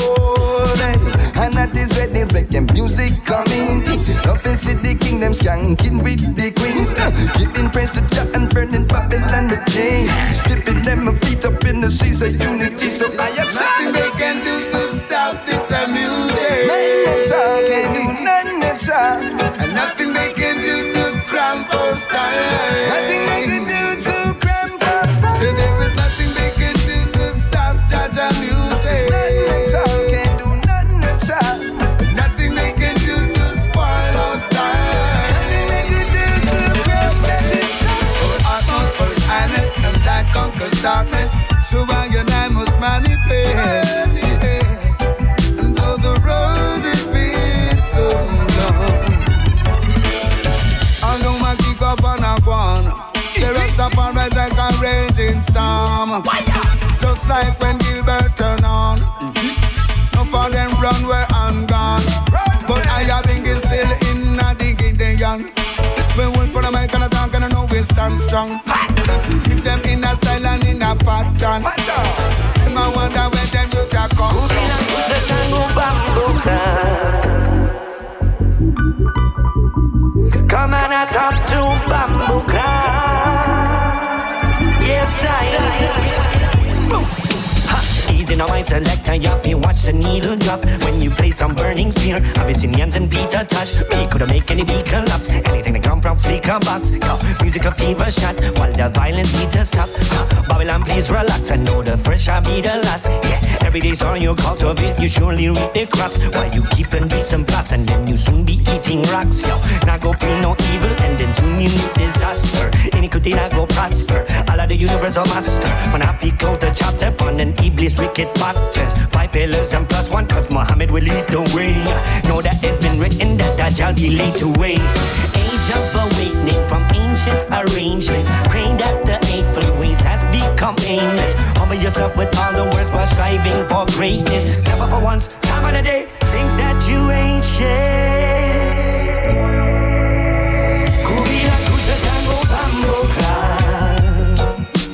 hold it. And that is where the reggae music coming. Love is the kingdom skanking with the queens. uh, Giving praise to Jah and burning Babylon the chains. Slipping them feet up in the seas of unity. So I have nothing they can do to stop this music. Nothing at all can do, nothing at all. And nothing they can do to cramp our style. Nothing they can do to cramp our style. So there is nothing they can do to stop Jaja music. Nothing at all can do, nothing at all. Nothing they can do to spoil our style. Nothing they can do to cramp that style. Our utmost for his highness, and that conquers darkness. So I and I must manifest. And though the road is been so long, I know my kick up on a one. The rest of our rise like a raging storm. Just like when Gilbert turned on. No for them run where I'm gone. But I have been still in a digging the young. When we put a mic and a talk and I know we stand strong. Keep them in a style and in a pattern. I wonder where them you can come Come and I talk to Bamboo Clan. know my selector, yup, you watch the needle drop. When you play some burning spear, Abyssinians and Peter touch. We could make any beat collapse. Anything that come from Flicker box. Yo, music a fever shot, while the violent beat is stop. Uh, Babylon, please relax. I know the first shall be the last. Yeah, every day's on your cultivate, you surely reap the crops. While you keep and decent plots, and then you soon be eating rocks. Yo, now go pre no evil, and then soon you meet disaster. Iniquity now go prosper. All of the universal master. When I be close the chapter on an Iblis wicked factors. Five pillars and plus one, cause Muhammad will lead the way. Know that it's been written that Dajjal be laid to waste. Age of awakening from ancient arrangements. Pray that the eightfold ways has become aimless. Humble yourself with all the words while striving for greatness. Never for once, time of the day, think that you ain't shit. Kubila kuza tango bambo clan.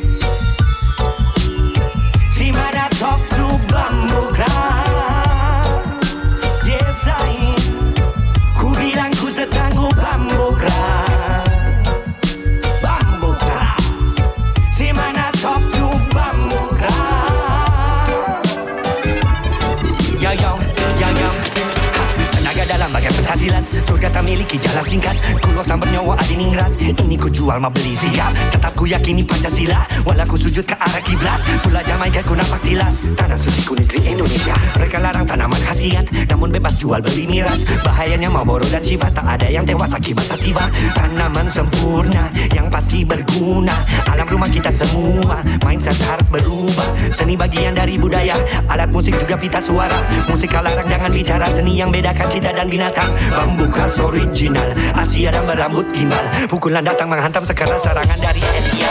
See my that talk to bambo clan. Yes I Kubila kuza tango bambo clan. Bambo clan. See my that talk to bambo clan. Yo yo yo yo. Tenaga dalam bagai penghasilan, surga tak miliki jalan singkat. Kulo sang bernyawa adiningrat, ini ku jual mau beli siap. Tetap ku yakini Pancasila, walau ku sujud ke arah kiblat. Pula Jamaika ku nampak tilas, tanah suci ku negeri Indonesia. Mereka larang tanaman khasiat, namun bebas jual beli miras. Bahayanya Marlboro dan Shiva, tak ada yang tewas akibat sativa. Tanaman sempurna, yang pasti berguna. Alam rumah kita semua, mindset harus berubah. Seni bagian dari budaya, alat musik juga pita suara. Musik larang jangan bicara, seni yang bedakan kita dan binatang. Bambu khas original, Asia dan berambut gimbal. Pukulan datang menghantam sekarang serangan dari India.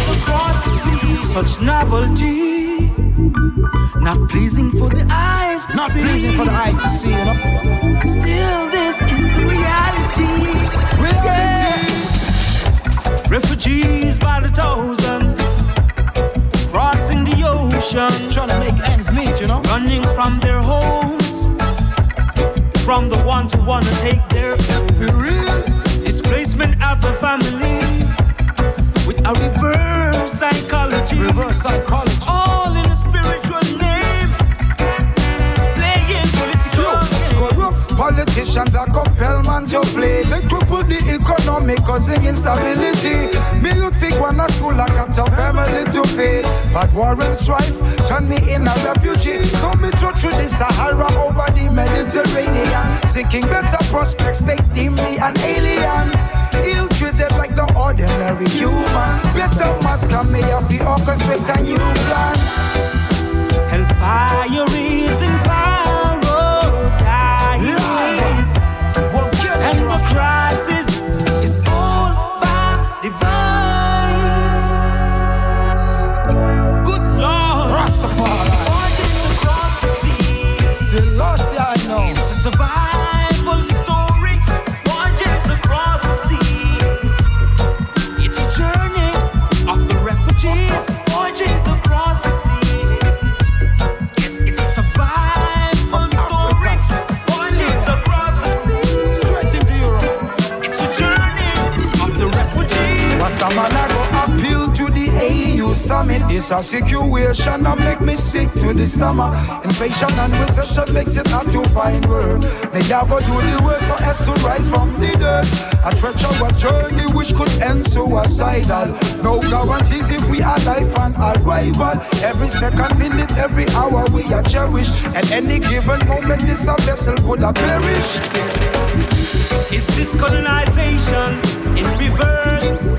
Such novelty, not pleasing for the eyes to Not see. Not pleasing for the eyes to see, you know. Still, this is the reality. Reality. Yeah. Refugees by the thousand, crossing the ocean, trying to make ends meet, you know. Running from their homes, from the ones who wanna take their real displacement of the family with a reverse psychology. Reverse psychology. All in a spiritual name, playing political games. Corrupt politicians are compelled man to play. They cripple the economy causing instability. Me youth think one a school like a tough family to pay. But war and strife turn me in a refugee. So me throw through the Sahara over the Mediterranean, seeking better prospects. They deem me an alien, ill-treated like no ordinary human. Better mask me off the orchestrate a new plan. Hellfire is in paradise, and the crisis is all by device. Good Lord, Rastafari, watching across the sea. Selassie, I know. It's a survival story. Watching across the seas. It's a journey of the refugees. Watching across the seas. Yes, it's a survival story. Watching across the seas. Straight into Europe. It's a journey of the refugees. Rastaman, I go appeal to the A U summit. It's a situation that make me sick to the stomach. Inflation and recession makes it hard to find work. May I go do the work so as to rise from the dirt. A treacherous journey which could end suicidal. No guarantees if we are life on arrival. Every second, minute, every hour we are cherished. At any given moment this a vessel could have perished. It's this colonization in reverse.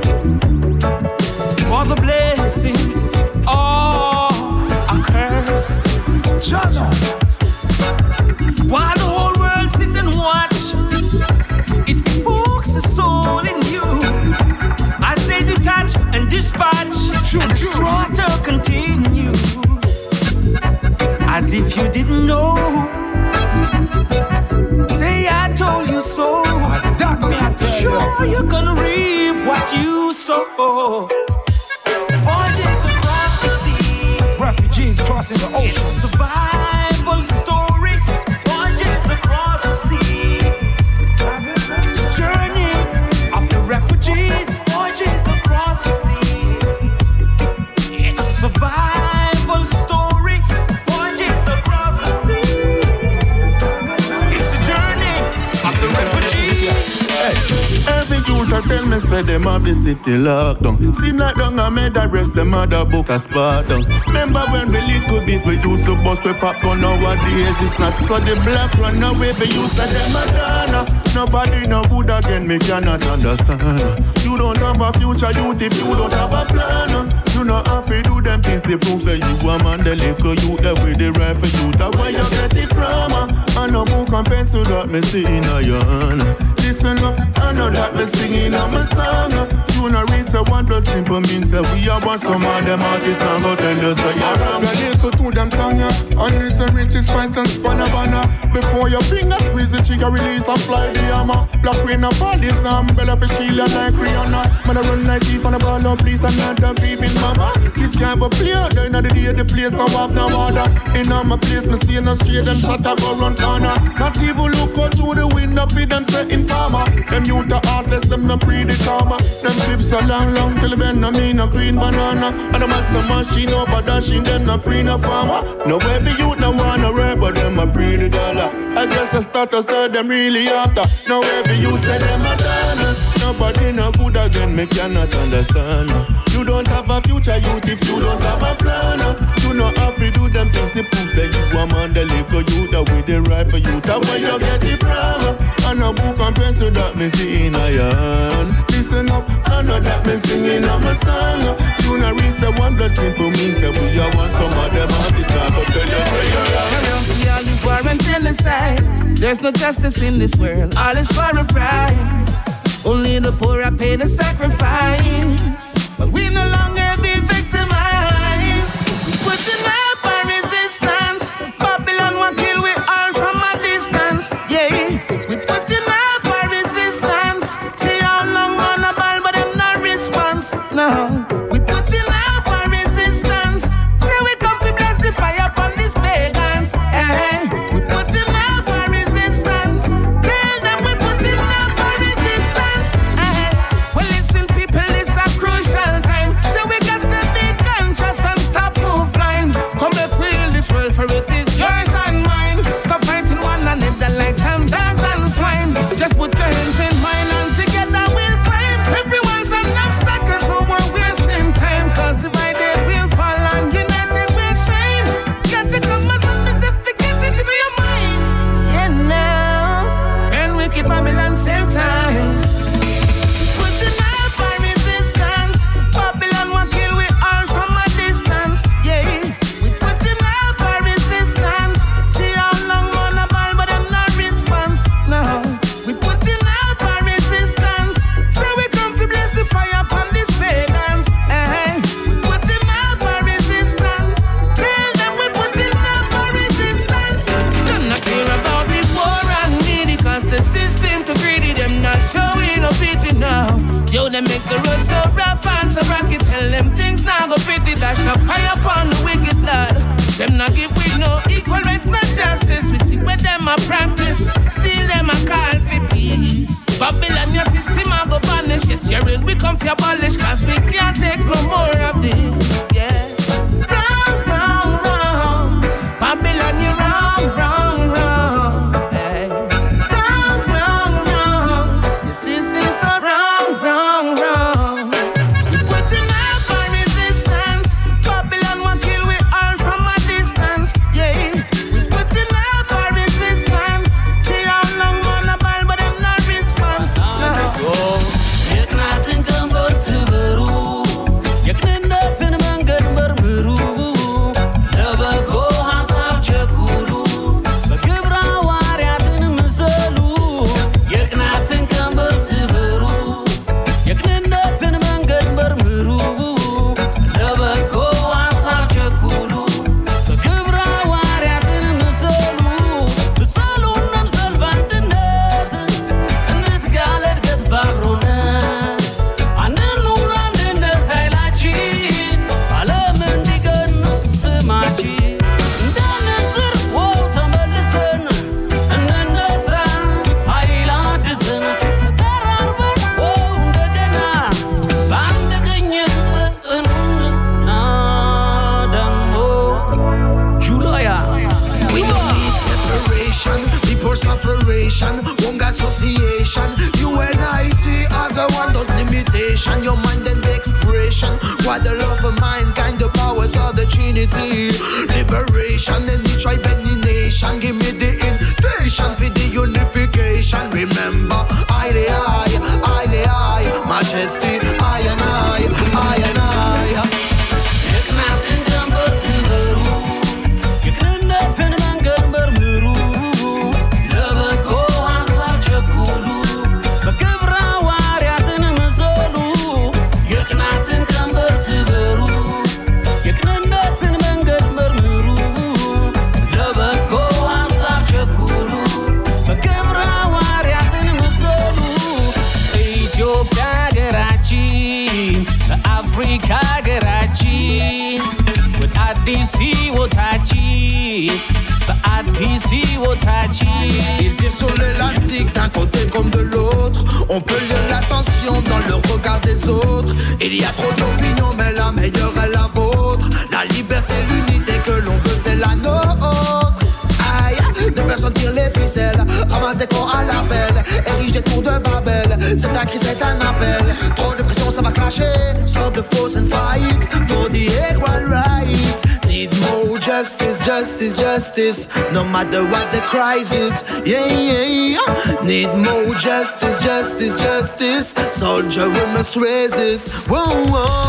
For the blessings, all a curse. Jana. While the whole world sit and watch, it evokes the soul in you as they detach and dispatch, true, and the slaughter continues. As if you didn't know. Say I told you so. That me I tell you. Sure, you're gonna reap what you sow. Voyages across the sea. Refugees crossing the ocean. It's a survival story. Voyages across the sea. It's a journey of the refugees. Voyages across the sea. It's a survival story. me say them have the city locked down. Seem like down I made the rest them other book a spot down. Remember when we little bit we used to bust we popcorn, nowadays it's not. So the black run away we used to them a dana. Nobody no good again, me cannot understand. You don't have a future youth if you don't have a plan. You know have to do them things to prove that you a man, the liquor youth, the way they right for you. That's where you get it from. I know book and pencil that me see in a your hand. Listen up, I know that me singing on my song. You know read say one blood simple means that we are one. Some of them artists now go tell you so you're wrong. The liquor to them tongue, and listen riches, spice and spanavana. Before your fingers squeeze the trigger, release and fly the hammer. Black rain and fall is now Bella for Sheila like Rihanna. Man I run like deep on the ball, no please another baby mama. Kids can't but play, they know the day the place no have no order. In on my place, me see no straight, them shot a go run corner. Not even look out through the window, feed them setting farmer. Them youth are heartless, them no pre the karma. Them clips so long, long till the bend no mean no green banana. And the master machine over dashing, them no free no farmer. No baby youth no wanna rare, but them a pre the dollar. I guess the status so them really after. No baby you say them a done. Nobody no good again, me cannot understand. You don't have a future youth if you don't have a plan. You know how to do them things to prove that you a man, the liquor you that with the right for you. That's where you get it from. And a book and pencil that me see in a hand. Listen up, I know that me singing on my song. Tune a read say one blood simple means that we are one. Some of them artists now go tell you say you're wrong. I don't see all this war and genocide. There's no justice in this world. All is for a price. Only the poor are paying the sacrifice. But we no longer be victimized. We put in up our resistance. Babylon will kill we all from a distance. Yeah, we put in up our resistance. See how long on a ball, but them no response. No, we put in up our resistance. Say we come to bless the fire upon these pagans. Hey, we put in up our resistance. Tell them we put in up our resistance. Hey, well listen people, this a crucial time. So we got to be conscious and stop move blind. Come let's heal this world for it is yours and mine. Stop fighting one another like some dogs and swine. Just put your hands in mine and together we'll climb. Everyone's an obstacle, no more wasting time. Cause divided we'll fall and united we'll shine. Got to come as a specific into your mind. Yeah now, and we keep Babylon same time. Putting up our resistance. Babylon will kill we all from a distance. Yeah, we putting up our resistance. See how long on a ball, but them not response. No, we putting up our resistance. So we come to bless the fire upon these pagans. Hey, we putting up our resistance. Tell them we putting up our resistance. Them not care about the poor and needy, cause the system too greedy. Them not showing no pity now. Yo, they make the road so rough and so rocky. Tell them things now go pretty. Dash up high upon the wicked lad. Them not give we no equal rights, not justice. We see where them a practice. Still them a call for peace. Babylon your system a go vanish. Yes, you're in, we come for abolish. Cause we can't take no more of this. Yeah. Wrong, wrong, wrong. Babylon you wrong, wrong, wrong. Hey. Wrong, wrong, wrong. The system's so wrong, wrong, wrong. We putting up our resistance. Babylon will kill we all from a distance. Yeah, we putting up our resistance. See how long on a ball, but them not response. No. You can't think about Subaru. You clean up in nation, your mind and the expression. What the love of mankind, the powers of the Trinity. Liberation in the tribe and the nation. Give me the invitation for the unification. Remember, I the I, I the I, majesty, I and I, I and I. Il tire sur l'élastique d'un côté comme de l'autre. On peut lire l'attention dans le regard des autres. Il y a trop d'opinions mais la meilleure est la vôtre. La liberté, l'unité que l'on veut c'est la nôtre. Aïe, deux personnes tirent les ficelles, ramassent des corps à l'appel, érigent des tours de Babel. C'est un cri, c'est un appel. Trop de pression, ça va clasher. Stop the force and fight for the equal right. Need more justice, justice, justice. No matter what the crisis, yeah, yeah, yeah. Need more justice, justice, justice. Soldier, we must resist. Whoa, whoa.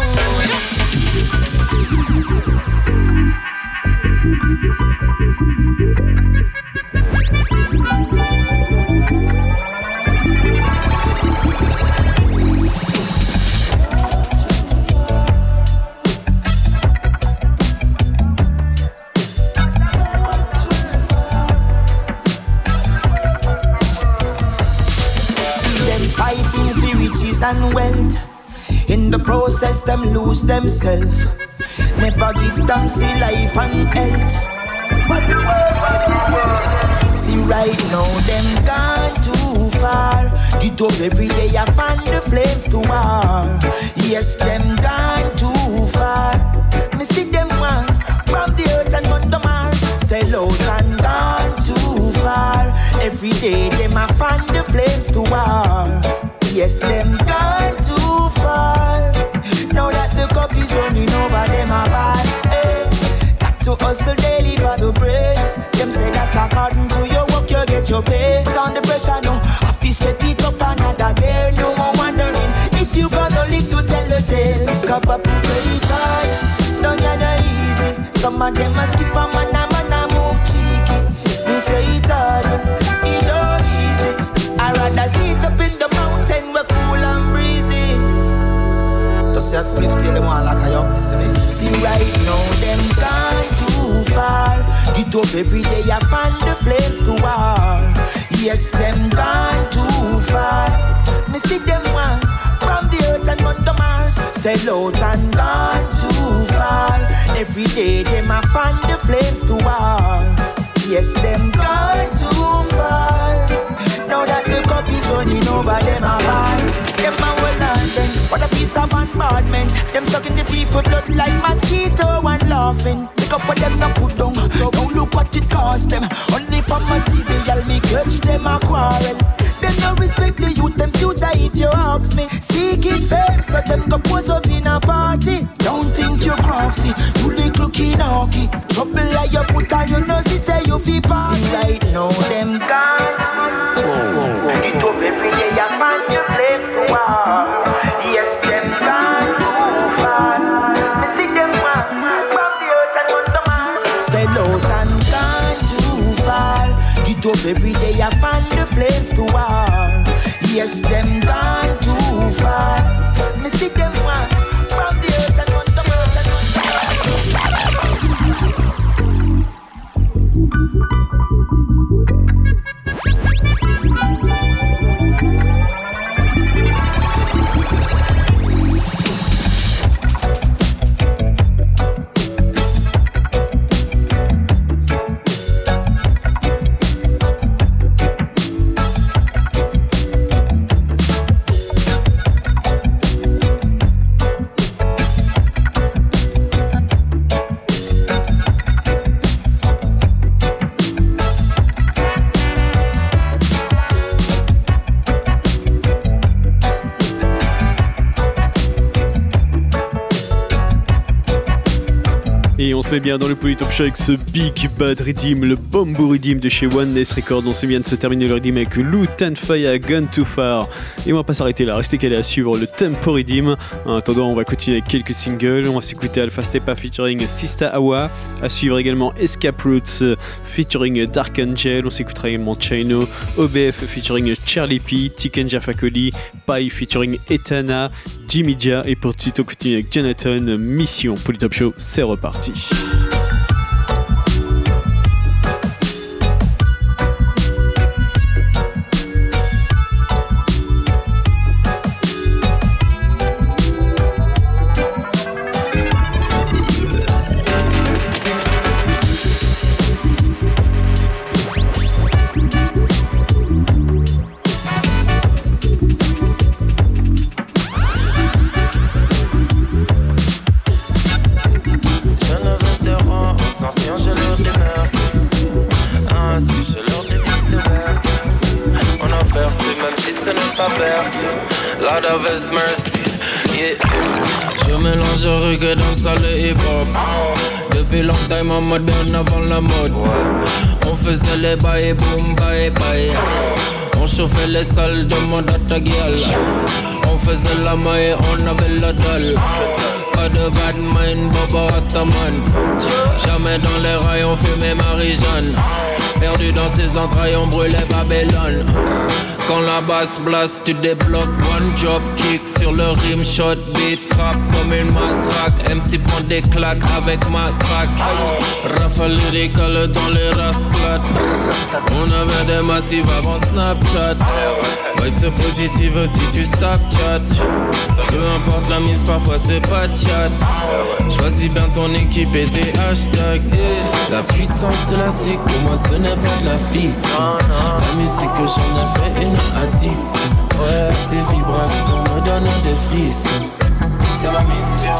And wealth. In the process, them lose themselves. Never give thanks to life and health. See right now, them gone too far. Get up every day, I fan the flames to war. Yes, them gone too far. Me see them one from the earth and on the Mars. Sell out and gone too far. Every day, them a fan the flames to war. Yes, them gone too far. Now that the cup is running over, them a bad. Hey, got to hustle daily for the bread. Them say that according to your work, you get your pay. Down the pressure now, I feel step it up another day. No more wondering if you gonna live to tell the tale. Cup up is so it's hard, don't get no easy. Some of them a skip a man, a man a move cheeky. Me say it's hard, it no easy. I rather sit up in the mountain where cool and breezy. Just say a spliff till them want like a young listen me. See right now them gone too far. Get up every day I fan the flames to war. Yes, them gone too far. Me see them one from the earth and on the Mars. Sell out and gone too far. Every day them a fan the flames to war. Yes, them gone too far. Now that the cup is running over, them a bad. Them a well learned them. What a piece of bombardment. Them sucking the people blood like mosquito and laughing. Pick up what them no put down. Don't look what it cost them. Only for material me catch them a quarrel. Them no respect the youth, them future if you ask me. Seeking fame, so them go pose up in a party. Don't think you're crafty, you look looking hockey. Trouble like your foot and you know she say you feel pass. See right now them gone. Get up every day and find your place to war. Yes, them gone too far. Me see them one from the earth and on the Mars. Sell out and gone too far. Get up every day and find the flames to war. Yes, them gone too far. Me see them one from the earth and on the se met bien dans le Polytop Show avec ce Big Bad Redeem, le Bamboo Redeem de chez One Ness Records. On se vient de se terminer le Redeem avec Loot and Fire, Gone Too Far. Et on va pas s'arrêter là, restez calés à suivre le Tempo Redeem. En attendant, on va continuer avec quelques singles. On va s'écouter Alpha Stepa featuring Sista Awa. À suivre également Escape Roots featuring Dark Angel. On s'écoutera également Chino, O B F featuring Charlie P, Tiken Jafakoli, Pai featuring Etana, Jimmy Dia. Et pour tout de suite, on continue avec Jonathan, Mission. Polytop Show, c'est reparti. Lord of His mercy, yeah. Je mélange reggae, dancehall et hip-hop. Depuis longtemps en mode bien avant la mode. On faisait les bails, boom, bails, bails. On chauffait les salles, demande à ta gueule. On faisait la maille, on avait la dalle. Pas de bad mind, Bobo Rastaman. Jamais dans les rails, on fumait Marie-Jeanne. Perdu dans ses entrailles, on brûlait Babylone. Quand la basse blast, tu débloques. One drop kick sur le rim shot. Beat frappe comme une matraque. M C prend des claques avec ma track. Rafale lyrical dans les rasclates. On avait des massifs avant Snapchat. Vibe c'est positive si tu Snapchat. Peu importe la mise, parfois c'est pas de chat. Choisis bien ton équipe et tes hashtags. La puissance de la zik, pour moi ce n'est pas de la fiction. La musique que j'en ai fait une addiction. Ces vibrations me donnent des frissons. C'est ma mission.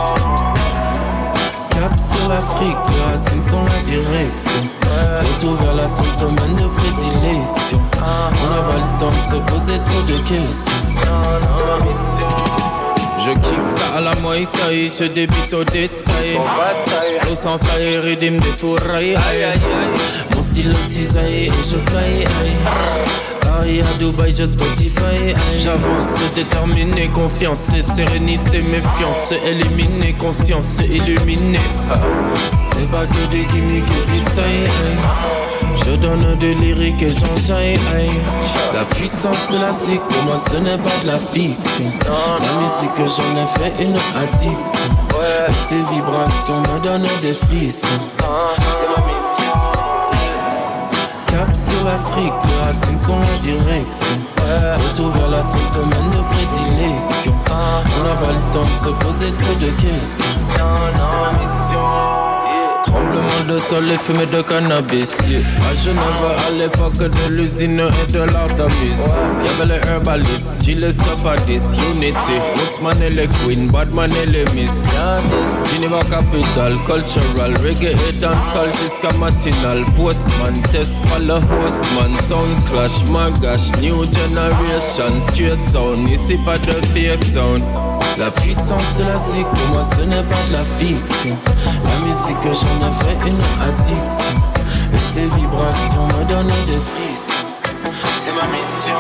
Cap sur l'Afrique, les racines sont la direction. Retour vers la source, domaine de prédilection. On n'a pas le temps de se poser trop de questions. C'est ma mission. Je kick ça à la Muay Thai, je débute au détail. Sans bataille, flow sans faille, rythme des fourrailles. Aïe aïe aïe, mon style cisaille et je fly. Paris à Dubaï, je Spotify. J'avance, déterminé, confiance et sérénité, méfiance. Éliminer, conscience illuminée. C'est pas que des gimmicks et du style. Je donne de lyrique et j'enjaille. La puissance de la zik, pour moi ce n'est pas de la fiction. La musique que j'en ai fait une addiction. Et ces vibrations me donnent des frissons. C'est ma mission. Cap sur l'Afrique, les racines sont la direction. Retour vers la source, domaine de prédilection. On n'a pas le temps de se poser trop de questions. C'est ma mission. Tremblement de sol et fumée de cannabis, yeah. À Genève à l'époque de l'usine et de l'Artemis, y'avait les herbalistes, Gilles Stafadis, Unity, Woodsman et les Queen, Badman et les Miss, Geneva Capital, Cultural, Reggae et dancehall jusqu'à matinal. Postman, test par le hostman, Sound Clash, Magash, New Generation, Straight Sound, ici pas de fake sound. La puissance de la zik, pour moi ce n'est pas de la fiction. La musique que j'en ai fait une addiction. Et ces vibrations me donnent des frissons. C'est ma mission.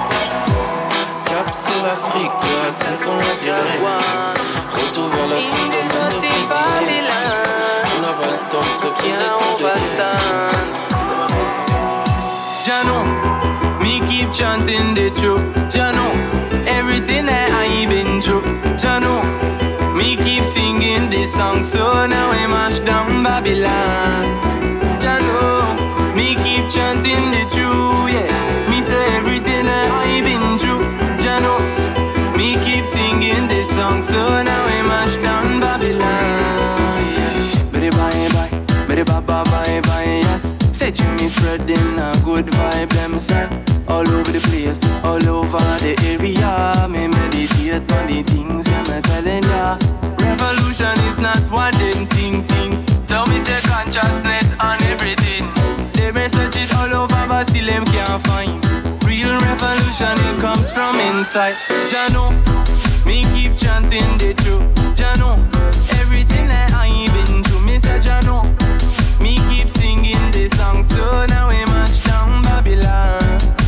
Cap sur l'Afrique, les racines sont la direction. Retour vers la source, domaine de prédilection. On n'a pas le temps de se poser trop de questions. C'est ma mission. Jano, me keep chanting the truth. Jano, everything that I been through. Jano, me keep singing this song, so now we mash down Babylon. Jano, me keep chanting the truth, yeah. Me say everything that I been through. Jano, me keep singing this song, so now we mash down Babylon. Yes. Bye bye bye, bye bye bye bye bye, yes. Say Jimmy spreading a good vibe, them son. All over the place, all over the area. Me meditate on the things I'm telling ya. Revolution is not what them think, think. Tell me say consciousness on everything. They may search it all over but still them can't find. Real revolution, it comes from inside. Jano, me keep chanting the truth. Jano, everything that I been through, me say Jano. Me keep singing this song, so now we mash down Babylon.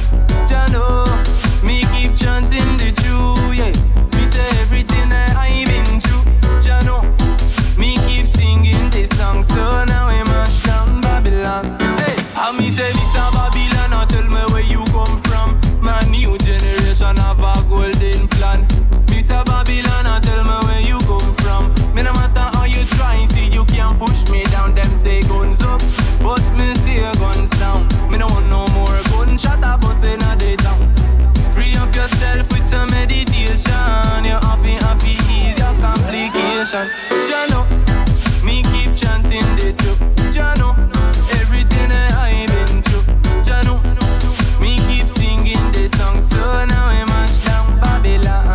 Jano, me keep chanting the truth, yeah. Me say everything that I been through. Jano, me keep singing this song, so now we mash down Babylon. Hey, and me say this a Babylon, now tell me where you come from. My new generation have a golden plan. This a Babylon, now tell me where you come from. Me no matter how you try, see you can't push me down. Them say guns up, but me say guns down. Me no want no more gunshot a bust in a day town. Free up yourself with some meditation. You have to, have to ease your complication. Jano, me keep chanting the truth. Jano, everything that I been through. Jano, me keep singing the song, so now I mash down Babylon.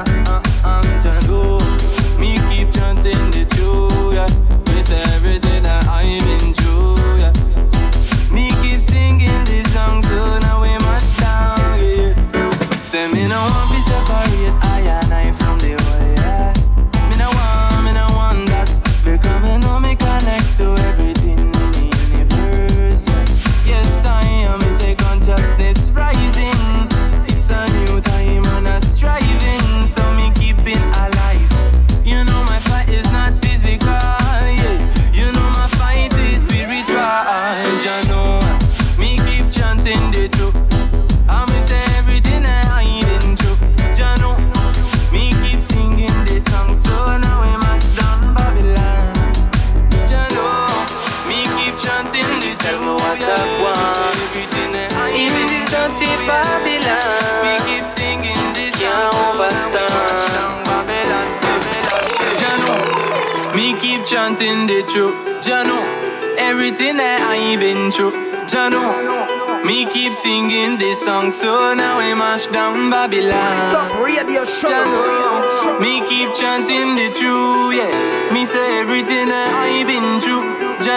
Jano, me keep chanting the truth, yeah. Me say everything that I been through, yeah. Me keep singing this song, so now we mash down, yeah. Say me no want to separate I and I from the world, yeah. Me no want, me no want that. Because me know me connect to everything in the universe, yeah. Yes, I am, me say consciousness rising. It's a new time and a striving, so me keeping alive. You know my fight is not physical, yeah. You know my fight is spiritual, you know. Me keep chanting the truth. I me say everything that I been through. You know. Me keep singing this song, so now we mash down Babylon. You know. Me keep chanting this truth. Everything that I been through. Babylon. Me keep singing this song, so now we mash down Babylon. You know. Me keep chanting the truth. You know. Everything that I been through. You know. Me keep singing this song, so now we mash down Babylon. Stop radio show. Jano, me keep chanting the truth, yeah. Me say everything that I been through.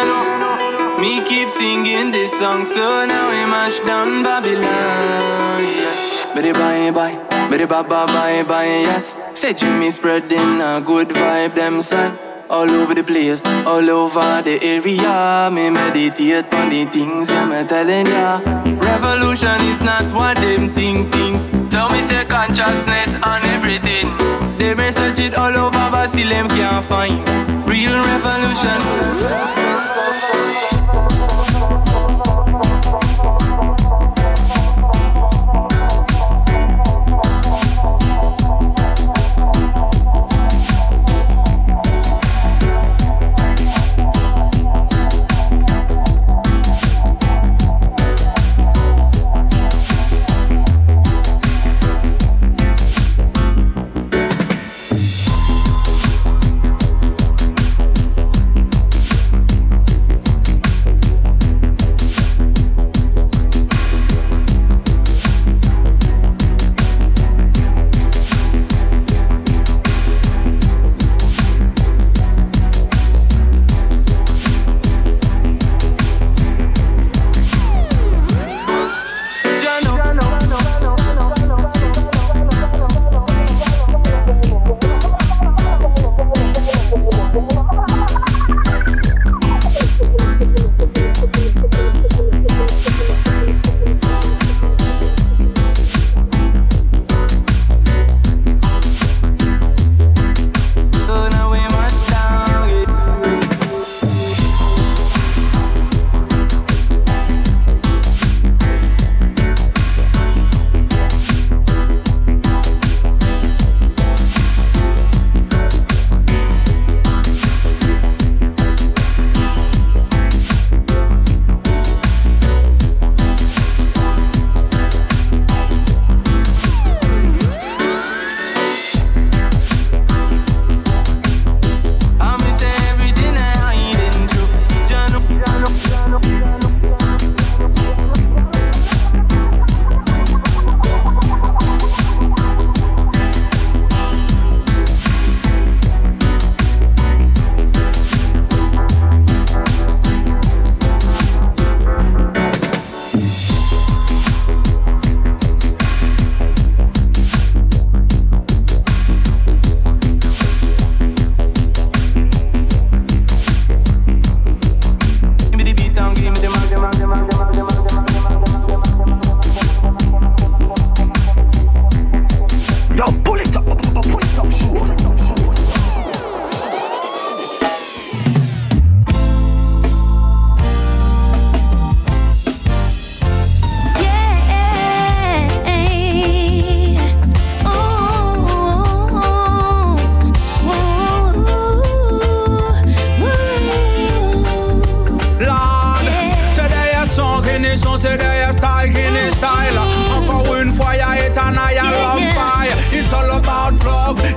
Jano, me keep singing this song, so now we mash down Babylon, yeah. Bidi bye bye, bidi bye bye bye bye, yes. Say Jimmy spreading a good vibe, them son. All over the place, all over the area. Me meditate on the things, yeah, me telling ya. Revolution is not what them think, think. Tell me say consciousness on everything. They may search it all over, but still them can't find real revolution.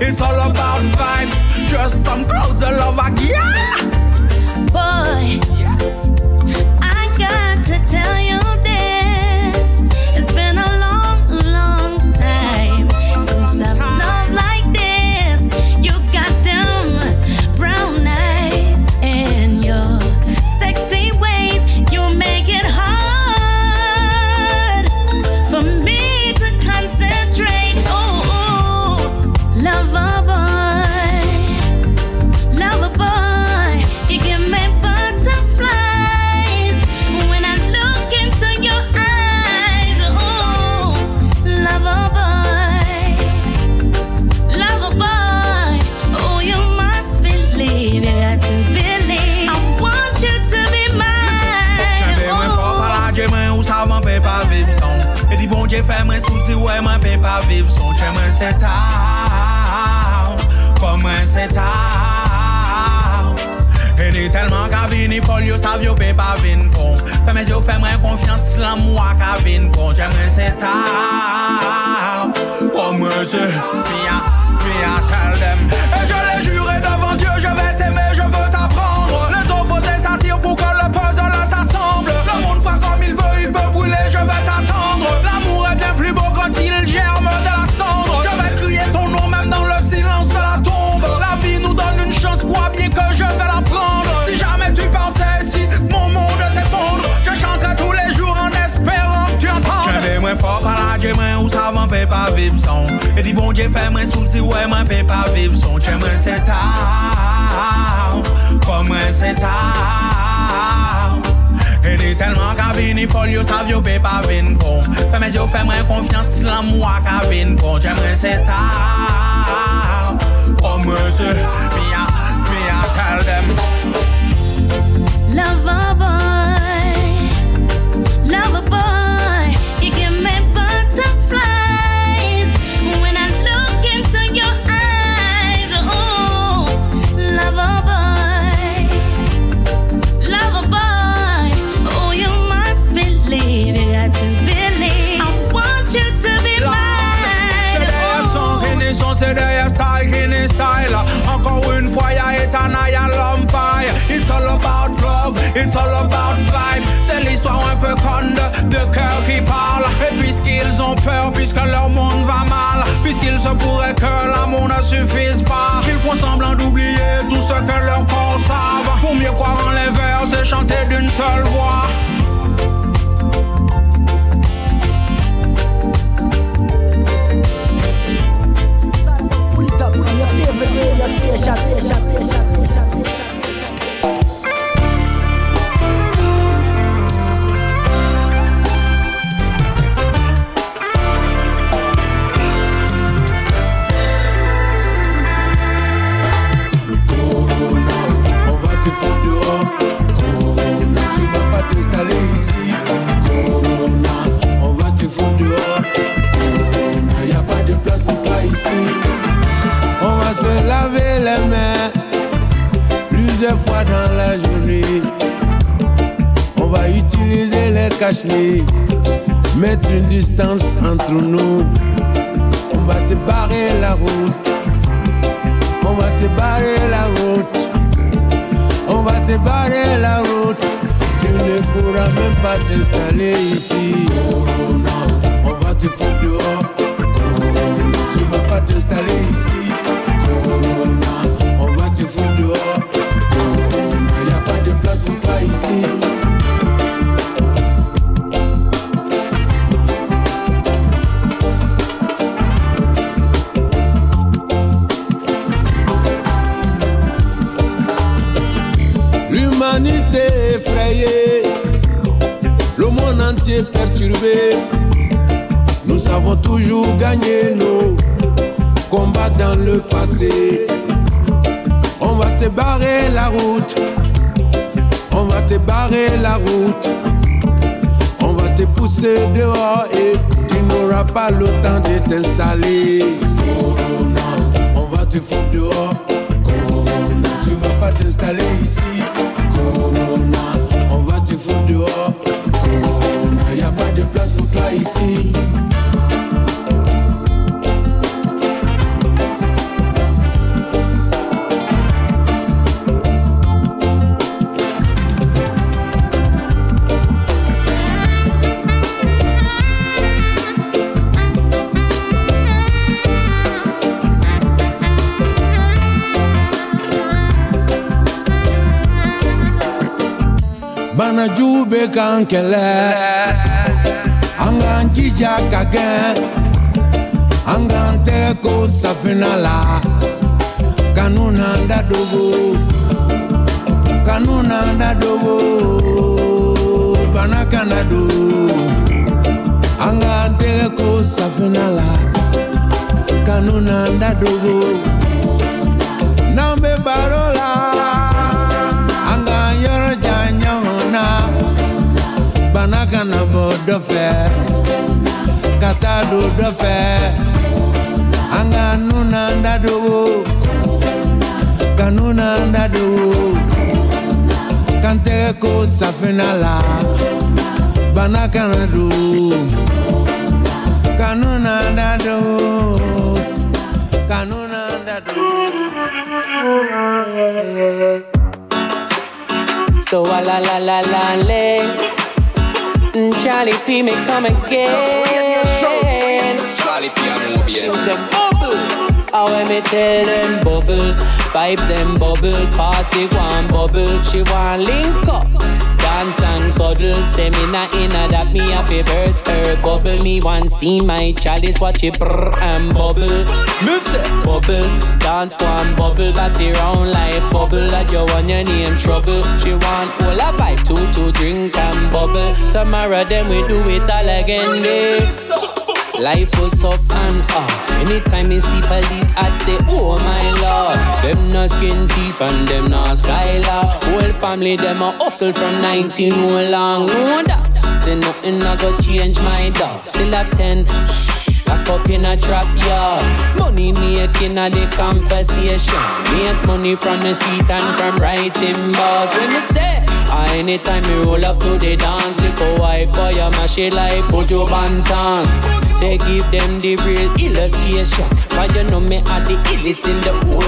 It's all about vibes. Just come closer, love again. Boy, I got to tell you this. It's been a long, long time since I've loved like this. You got them brown eyes and your sexy ways. You make it hard for me to concentrate. Oh, oh. Lover boy, lover boy, you give me butterflies when I look into your eyes. Oh, lover boy, lover boy, oh, you must believe, you got to believe. I want you to be mine. Ou ça m'en peut pas vivre sans. Et dit bon Dieu fait moi souci ouais m'en peut pas vivre sans. J'aime c'est tard, comme c'est tard. Et dit tellement qu'à venir folle yo savent yo peut pas venir bon. Fais mes yeux fais moi confiance l'amour qu'à venir bon. J'aime c'est tard, comme c'est. Mia, mia tell them. Et je l'ai juré devant Dieu je vais t'aimer, je veux t'apprendre. Les opposés s'attirent pour que le puzzle s'assemble. Le monde fait comme il veut, il peut brûler, je vais t'attendre. L'amour est bien plus beau quand il germe de la cendre. Je vais crier ton nom même dans le silence de la tombe. La vie nous donne une chance, crois bien que je vais la prendre. Si jamais tu partais, si mon monde s'effondre, je chanterai tous les jours en espérant que tu entendes. Je vais moins fort par la gamme où ça m'en peut pas vivre sans. Et dis bon Dieu fais moins souci, ouais m'en peut pas vivre sans. J'aime c'est tard, comme c'est tard. Et dit tellement qu'à venir folle, yo savent yo peut pas venir bon. Fais mes yeux, fais moi confiance, si l'amour qu'à venir bon. J'aimerais c'est tard, comme c'est. Mia, mia tell them. Lover boy, lover boy, you give me butterflies when I look into your eyes. Oh, lover boy, lover boy, oh, you must believe, you got to believe. I want you to be mine. C'est derrière son renaissance, c'est derrière style qui n'est style. Encore une fois, y'a Etana, y'a l'Empire. It's all about love, it's all about vibe. C'est l'histoire un peu conne de, de cœur qui parle. Et puisqu'ils ont peur, puisque leur monde va mal, puisqu'il se pourrait que l'amour ne suffise pas, ils font semblant d'oublier tout ce que leur corps savent. Pour mieux croire en les vers et chanter d'une seule voix. Pull it up on your favorite radio station, station, station, station, station, station. Tu fous dehors, Corona, tu vas pas t'installer ici. Corona, on va te foutre dehors. Corona, y a pas de place pour toi ici. On va se laver les mains plusieurs fois dans la journée. On va utiliser les cache-nez, mettre une distance entre nous. On va te barrer la route. On va te barrer la route. On va te barrer la route. Tu ne pourras même pas t'installer ici. Corona, on va te foutre dehors. Corona, tu vas pas t'installer ici. Corona, on va te foutre dehors. Corona, y a pas de place pour toi ici. L'humanité effrayée, le monde entier perturbé. Nous avons toujours gagné nos combats dans le passé. On va te barrer la route. On va te barrer la route. On va te pousser dehors et tu n'auras pas le temps de t'installer. Corona, on va te foutre dehors. Corona, tu vas pas t'installer ici. Corona, on va te foutre dehors. Corona, y a pas de place pour toi ici. Bana jube kankele Angan jija kagen Angan teko safinala Kanuna ndadogo Kanuna ndadogo Bana kanado Angan teko safinala Kanuna ndadogo Nambe barola Angan yoro janyona Banaka na bodo fe Katado do fe Anga nuna ndado Kanuna ndado Kante ko safinala Banaka na do Kanuna ndado Kanuna ndado. So la la la la la le Charlie P me come again. Charlie P and Lobby. So them bubble. I when me tell them bubble, vibes them bubble, party one bubble, she want link up. Dance and cuddle, say me not inna that me happy birds, her bubble, me want steam my chalice, watch it brrr and bubble. Me say bubble, dance one bubble, body round like bubble, that you want your name trouble. She want all a pipe, two to drink and bubble. Tomorrow then we do it all again, day. Life was tough and ah, uh, anytime me see police, I'd say, oh my lord. Them no skin teeth and them no skylar. Whole family them a hustle from nineteen oh long. Wonder, say nothing I go change my dog. Still have ten, shh, back up in a trap yard. Money making a the conversation. Make money from the street and from writing bars. When me say, ah, anytime me roll up to the dance, lick a white boy a mash it like Pojo Bantan. Say give them the real illustration, cause you know me are the illest in the whole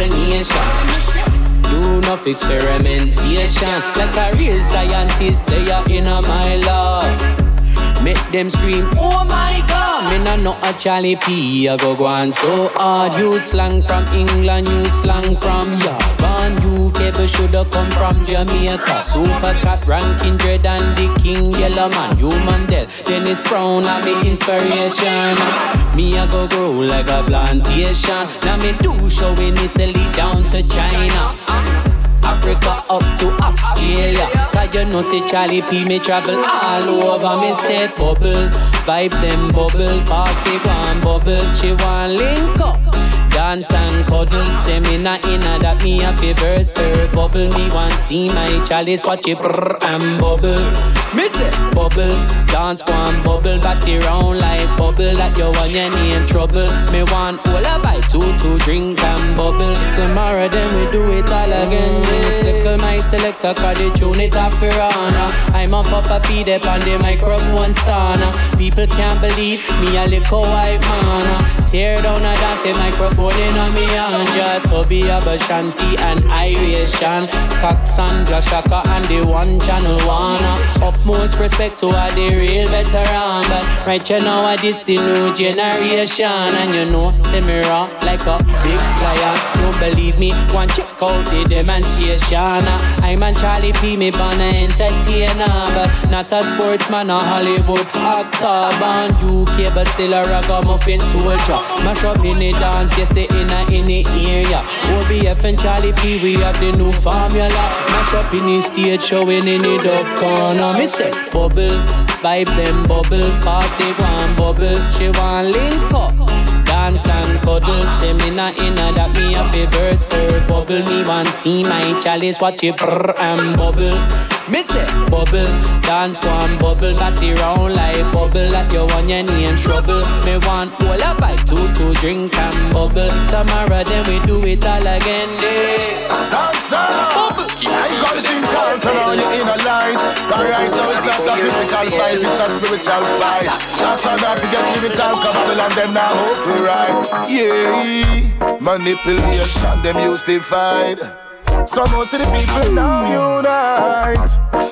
nation. Do enough experimentation, like a real scientist, they are in a my love. Make them scream, oh my god. Me nah know a Charlie P, I go go on so hard. You slang from England, you slang from Japan. You cable shoulda come from Jamaica. Super Cat, Ranking Dread and the King Yellow Man. You Mandel, Dennis Brown, I'm me inspiration. Me I go grow like a plantation. Now me do show in Italy down to China. Africa up to Australia. Cause you know say Charlie P me travel all over. Me say bubble, vibes them bubble, party one bubble, she want link up. Dance and cuddle, say me not inna that me happy birds for bubble. Me want steam my chalice, watch it brrr and bubble. Me say bubble, dance one bubble, body round like bubble, that you want your name trouble. Me want all a bite, two to drink and bubble. Tomorrow then we do it all again. Sickle my selector, cause they tune it off for honor. I'm on Papa P, they on the microphone stunner. People can't believe me a little white man. Tear down a dance microphone in on me anja. Toby Abashanti and Iration, Cox and Shaka and the one channel one. Utmost respect to all the real veteran, but right you now I this the new generation. And you know, say me raw like a big lion. Don't believe me, one check out the demonstration. I'm a Charlie P, me born a entertainer, but not a sportsman, a Hollywood actor. Born U K, but still a ragamuffin soldier. Mash up in the dance, you say in a in the area. O B F and Charlie P, we have the new formula. Mash up in the stage, showing in the dub corner. Me say bubble, vibes them bubble, party one bubble, she want link up. Dance and cuddle, say me not inna that me happy birds for bubble. Me want steam my chalice, watch it brrr and bubble. Me say bubble, dance one bubble, body round like bubble, that you want your name trouble. Me want all a bite, two to drink and bubble. Tomorrow then we do it all again, day. Bubble, I got think I'll turn on you in a light. Cause right now it's not a physical fight, it's a spiritual fight. That's how I forget lyrical, cause Babylon them now hope to ride. Yeah, manipulation, them use divide. So most of the people now unite.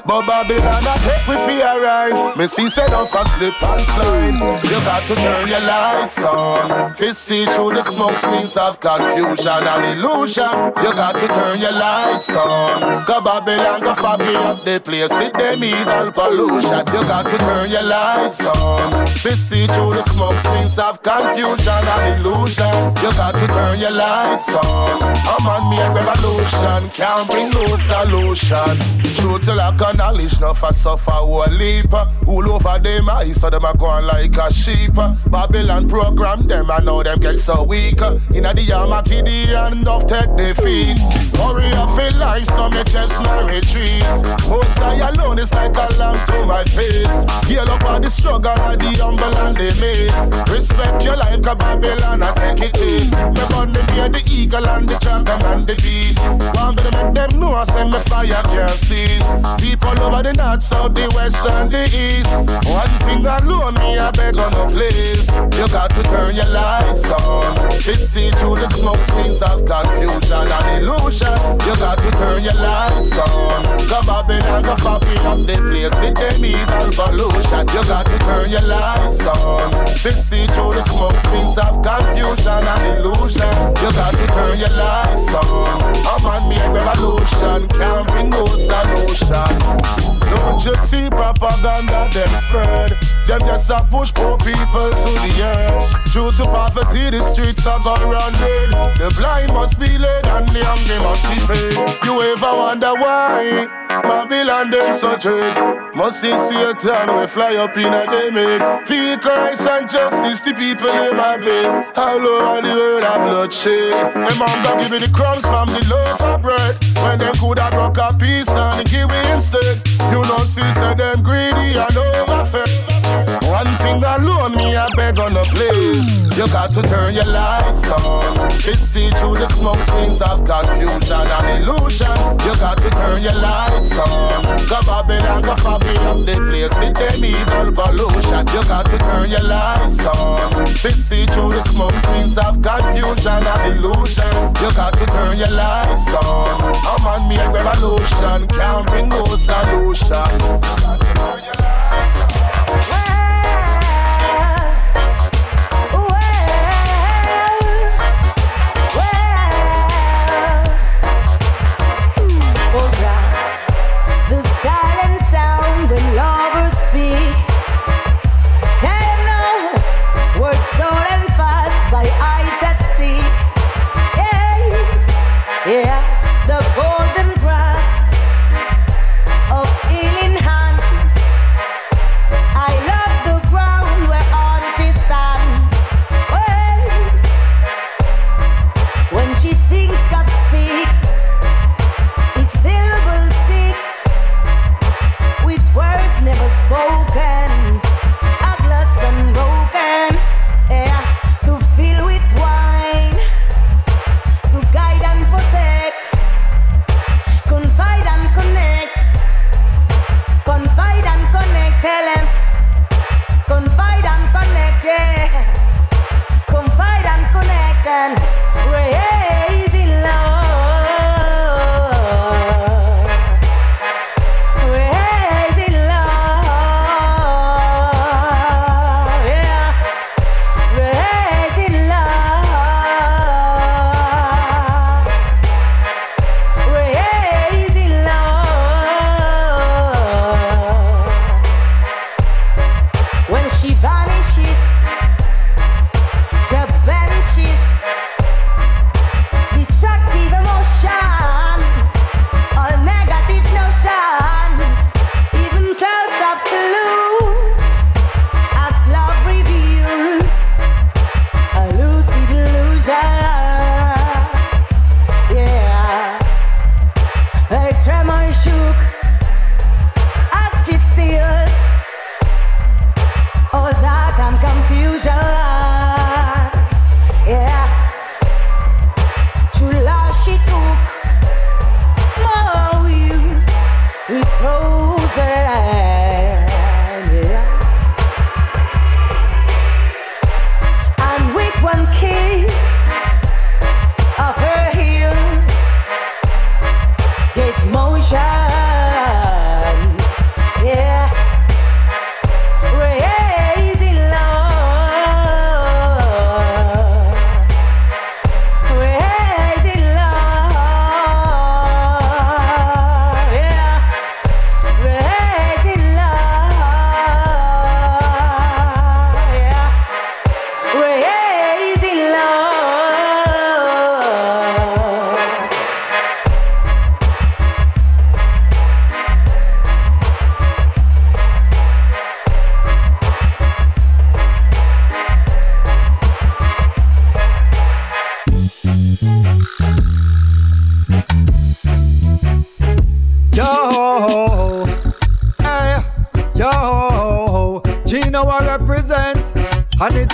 But Babylon I take we for a ride. Me see set off a slip and slide. You got to turn your lights on. Fist see through the smoke screens of confusion and illusion. You got to turn your lights on. Go Babylon go foggy up the place with them evil pollution. You got to turn your lights on. Fist see through the smoke screens of confusion and illusion. You got to turn your lights on. I'm on me a revolution. Can't bring no solution. True to lack of knowledge, no for suffer whole leap. All over them eyes, so them a going like a sheep. Babylon program them, I know them get so weak. Inna the Yamakidian, enough take defeat. Warrior feel life, so me just no retreat. Most I alone is like a lamb to my feet. Heal up on the struggle and the humble and the meek. Respect your life, cause Babylon I take it in. Me gun me near the eagle and the dragon and the beast. Want me to make them know I send me fire can't cease. People over the north, south, the west and the east. One thing alone me I beg on a place. You got to turn your lights on. It's see through the smoke screens of confusion and illusion. You got to turn your lights on. Go Babylon, go copy up the place with them evil pollution. You got to turn your lights on. It's see through the smoke screens of confusion and illusion. You got to turn your lights on. I'm on me a revolution. Can't bring no solution. Don't you see propaganda them spread? Them just a push poor people to the edge. Due to poverty, the streets are gone round red. The blind must be led and the hungry must be fed. You ever wonder why Babylon them so dread? Must see Satan we fly up in a day make. Feel Christ and justice, the people in my bed. How low are the world of bloodshed? My mom don't give me the crumbs from the loaf of bread. When them could have broke a piece and give it instead. You know see say them greedy and overfed. One thing alone me I beg on the place. You got to turn your lights on. It's see through the smoke screens of confusion and illusion. You got to turn your lights on. Go Babylon, go copy up the place with them evil pollution. You got to turn your lights on. It's see through the smoke screens of confusion and illusion. You got to turn your lights on. I'm on me a revolution. Can't bring no solution. You got to turn your lights on. Yeah, the golden grasp of healing hand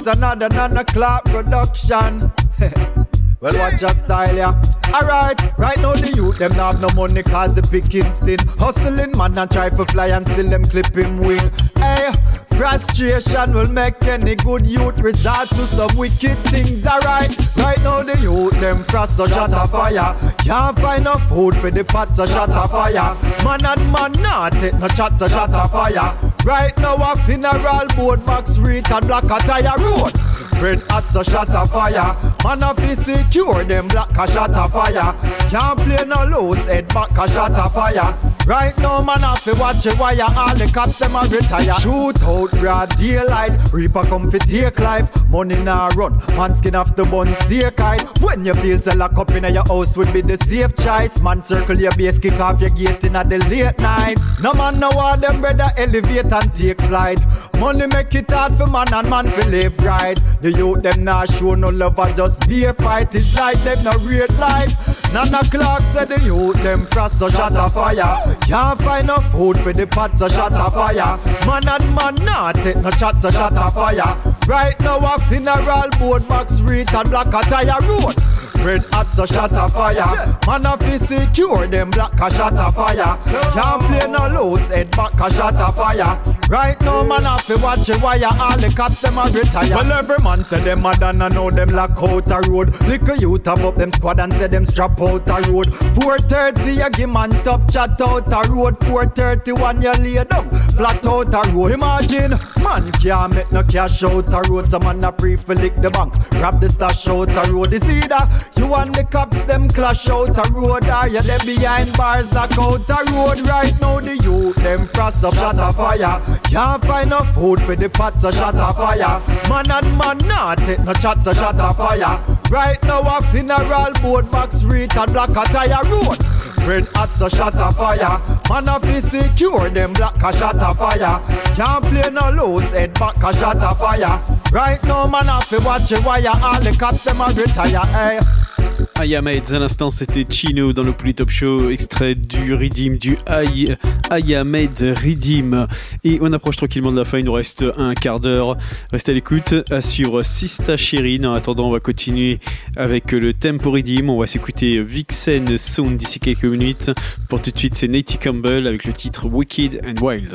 another nine o'clock production. Well, watch your style, yeah. Alright, right now the youth, them not have no money cause the pickings thin. Hustling man and try to fly and still them clip him wing. Hey, frustration will make any good youth resort to some wicked things. Alright, right now the youth, them frost so shut a fire. Can't find no food for the pot so shut a fire. Man and man not take no chat so shut a fire. Right now a funeral board box reach and black a tire road. Red hot so shut a fire. Man a fi secure them black a shut a fire. Can't play no loose head back a shut a fire. Right now man a fi watch a wire. All the cops them a retire. Shoot out broad daylight. Reaper come fi take life. Money nah run. Man skin off the bun see kite. When you feel so lock up in your house would be the safe choice. Man circle your base kick off your gate in the late night. No man know how them brother elevate and take flight. Money make it hard for man and man fi live right. The youth them not show no love and just be a fight. It's like them no real life. Nine o'clock said the youth them frost so shut a fire. Can't find no food for the pot so shut a fire. Man and man not take no chat so shut a fire. Right now a funeral board box reach and black a tire road. Red hot so shut a fire. Man a fi secure them black a shut a fire. Can't play no loose head back a shut a fire. Right now man a fi watch a wire. All the cops them a retire. Well every man say them a done and know them lock out a road. Little youth have up them squad and say them strap out a road. four thirty you give man top chat out a road. four thirty-one you lay down flat out a road. Imagine man can't make no cash out a road. Some man a pre fi lick the bank, grab the stash out a road. It's either you and the cops them clash out a road, or you them behind bars knock out a road. Right now the youth them frost up shut a fire. Can't find no food for the pot so shut a fire. Man and man not take no chat so shut a fire. Right now a funeral board box reach and black a tire road. Red hot so shut a fire. Man a fi secure them black a shut a fire. Can't play no loose head back a shut a fire. Right now man a fi watch a wire. All the cops them a retire. Hey. Ayameds à l'instant, c'était Chino dans le Polytop Show, extrait du Redeem, du Ay- Ayamed Redeem. Et on approche tranquillement de la fin, il nous reste un quart d'heure. Restez à l'écoute, à suivre Sista Chérine. En attendant, on va continuer avec le Tempo Redeem. On va s'écouter Vixen Sound d'ici quelques minutes. Pour tout de suite, c'est Natty Campbell avec le titre Wicked and Wild.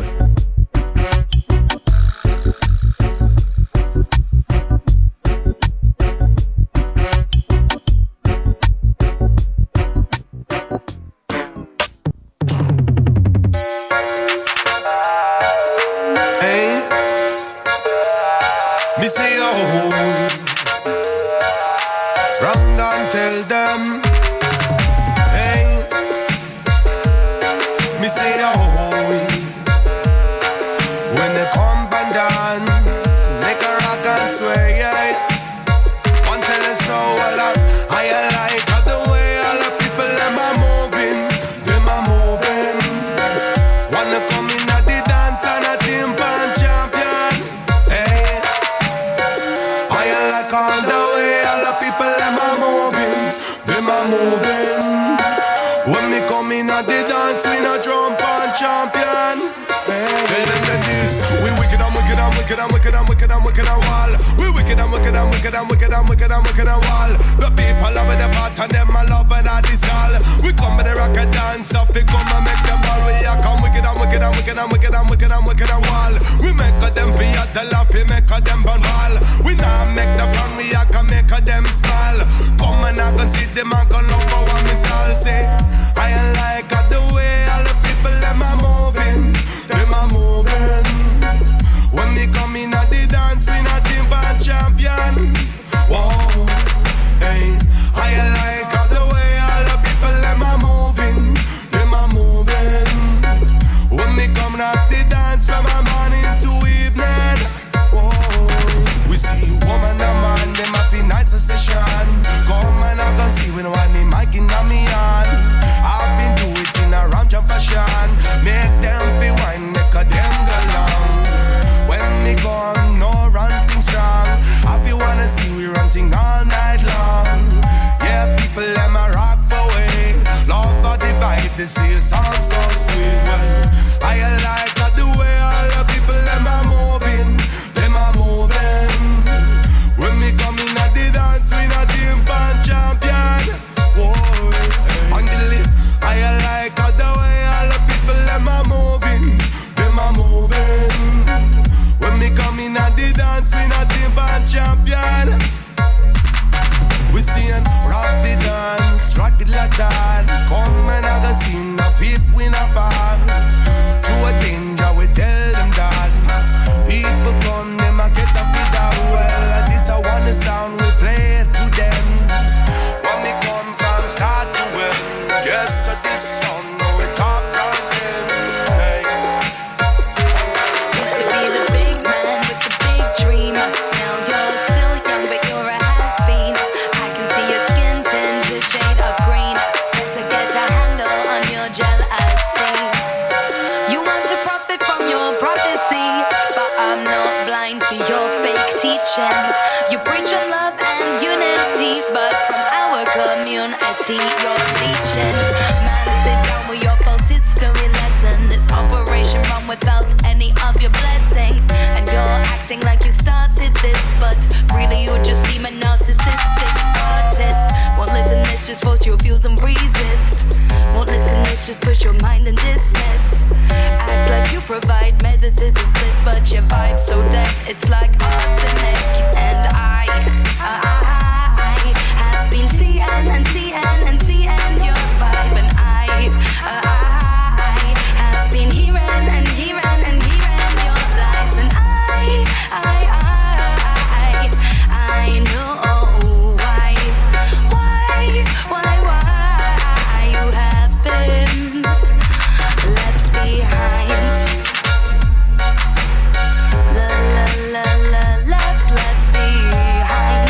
Me say oh, wrong and tell them. Hey, me say oh, when they come and dance, make a rock and sway. Yeah. One tell us so well, I like the way all the people them are moving, them are moving. Wanna come in at the dance and a timpan champion. All the way, all the people them are moving, them are moving. When me come in at the dance, we no jump on champion. Tell them that this, we wicked and wicked and wicked and wicked and wicked and wicked and wall. We wicked and wicked and wicked and wicked and wicked and wicked and wall. The people love the part and them a love and a this all. We come with the rock and dance up, we come and make them all. We a come wicked and wicked and wicked and wicked and wicked and wicked and wall. We make a them feel the laugh, we make a them burn ball. We now make the fun, we a can make a them smile. Come and I can see them and go love for what me style say. I ain't like the way all the people them are moving, them are moving. When me come in at the dance, we not team band champion. Whoa, hey, I like the way all the people them are moving, them are moving. When me come at the dance from a morning to evening. Whoa, we see woman and man, them have a nice session. Come and I can see when one the mic in me on. I've been do it in a ram jump fashion. Make them feel wine, make a them go long. When me gone, no ranting strong. If you wanna see we ranting all night long. Yeah, people them a rock for way. Love but the vibe, they say it's all so sweet. Well, I like the way all the people them are moving, them are moving. preaching. You preach on love and unity, but from our community you're bleaching. Man, sit down with your false history lesson. This operation run without any of your blessing, and you're acting like you started this, but really you just seem a narcissistic artist. Won't listen, this just force your views and resist. Won't listen, this just push your mind and dismiss. Act like you provide meditative bliss, but your vibe so dense, it's like arsenic. And I, I, I have been seeing and seeing and seeing your vibe, and I, I, I have been hearing and hearing and hearing your lies, and I, I, I, I, I know why, why, why, why you have been left behind. La la la la, left, left behind.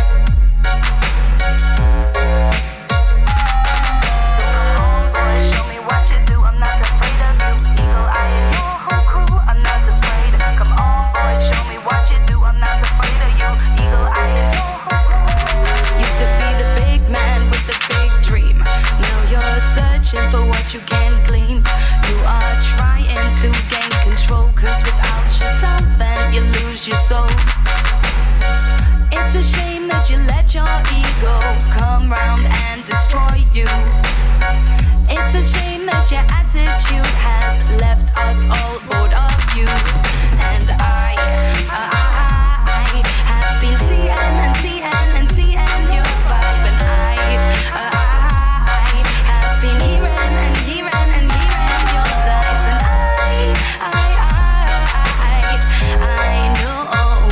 So come on, boy, show me what you do. I'm not afraid of you. Eagle eye and your whole crew. I'm not afraid. Come on, boy, show me what you do. I'm not afraid of you. Eagle eye and your whole crew. Used to be the big man with the big dream. Now you're searching for what you can't glean. You are trying to gain control, cause without yourself then you lose your soul. It's a shame that you let your ego come round and destroy you. It's a shame that your attitude has left us all bored of you. And I, I, I have been seeing and seeing and seeing your vibe, and I, I, have been hearing and hearing and hearing your lies, and I, I, I, I know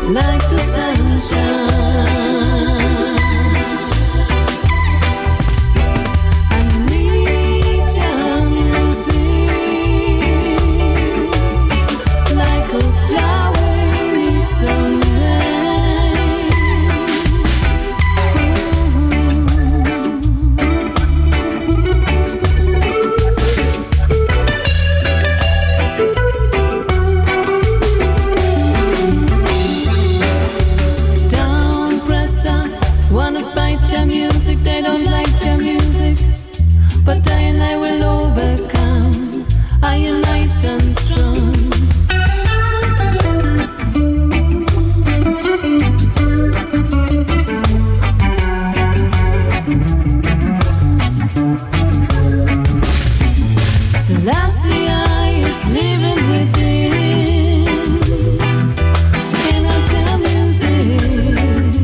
like the sunshine. But I and I will overcome. I am nice and strong. Selassie is living within. In our jam music.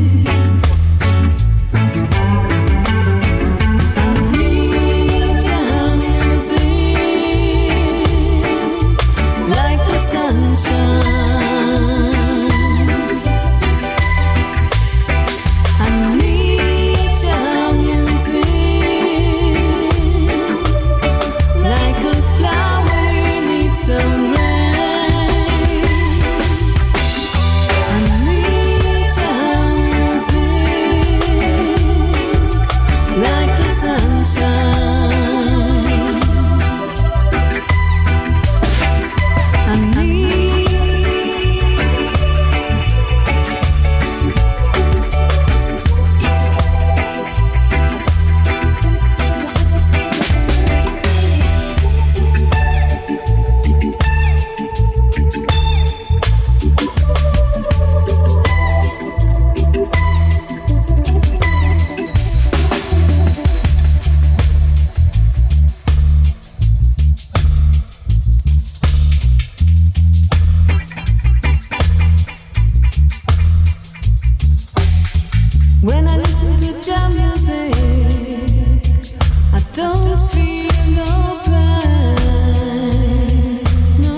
When I listen to jam music, I don't feel no pain. No,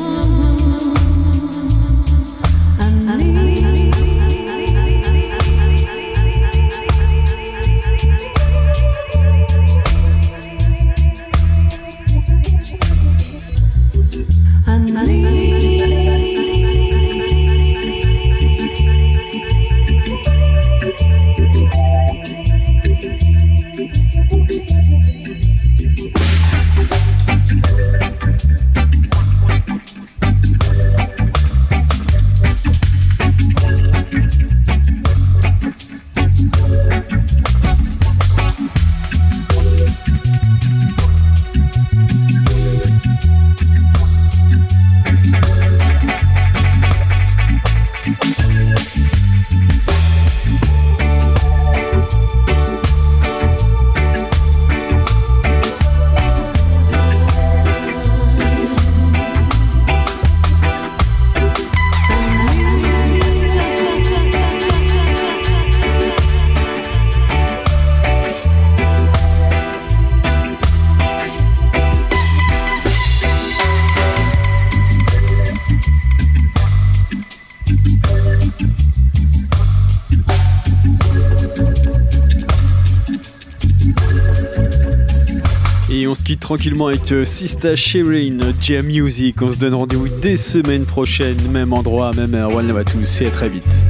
I need. I need. Et on se quitte tranquillement avec euh, Sista Shirin, Jam Music. On se donne rendez-vous dès semaine prochaine, même endroit, même heure. One love à tous et à très vite.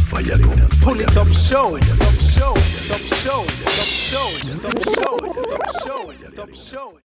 Pull it up, show, top show, top show, top show, top show, top show, top show.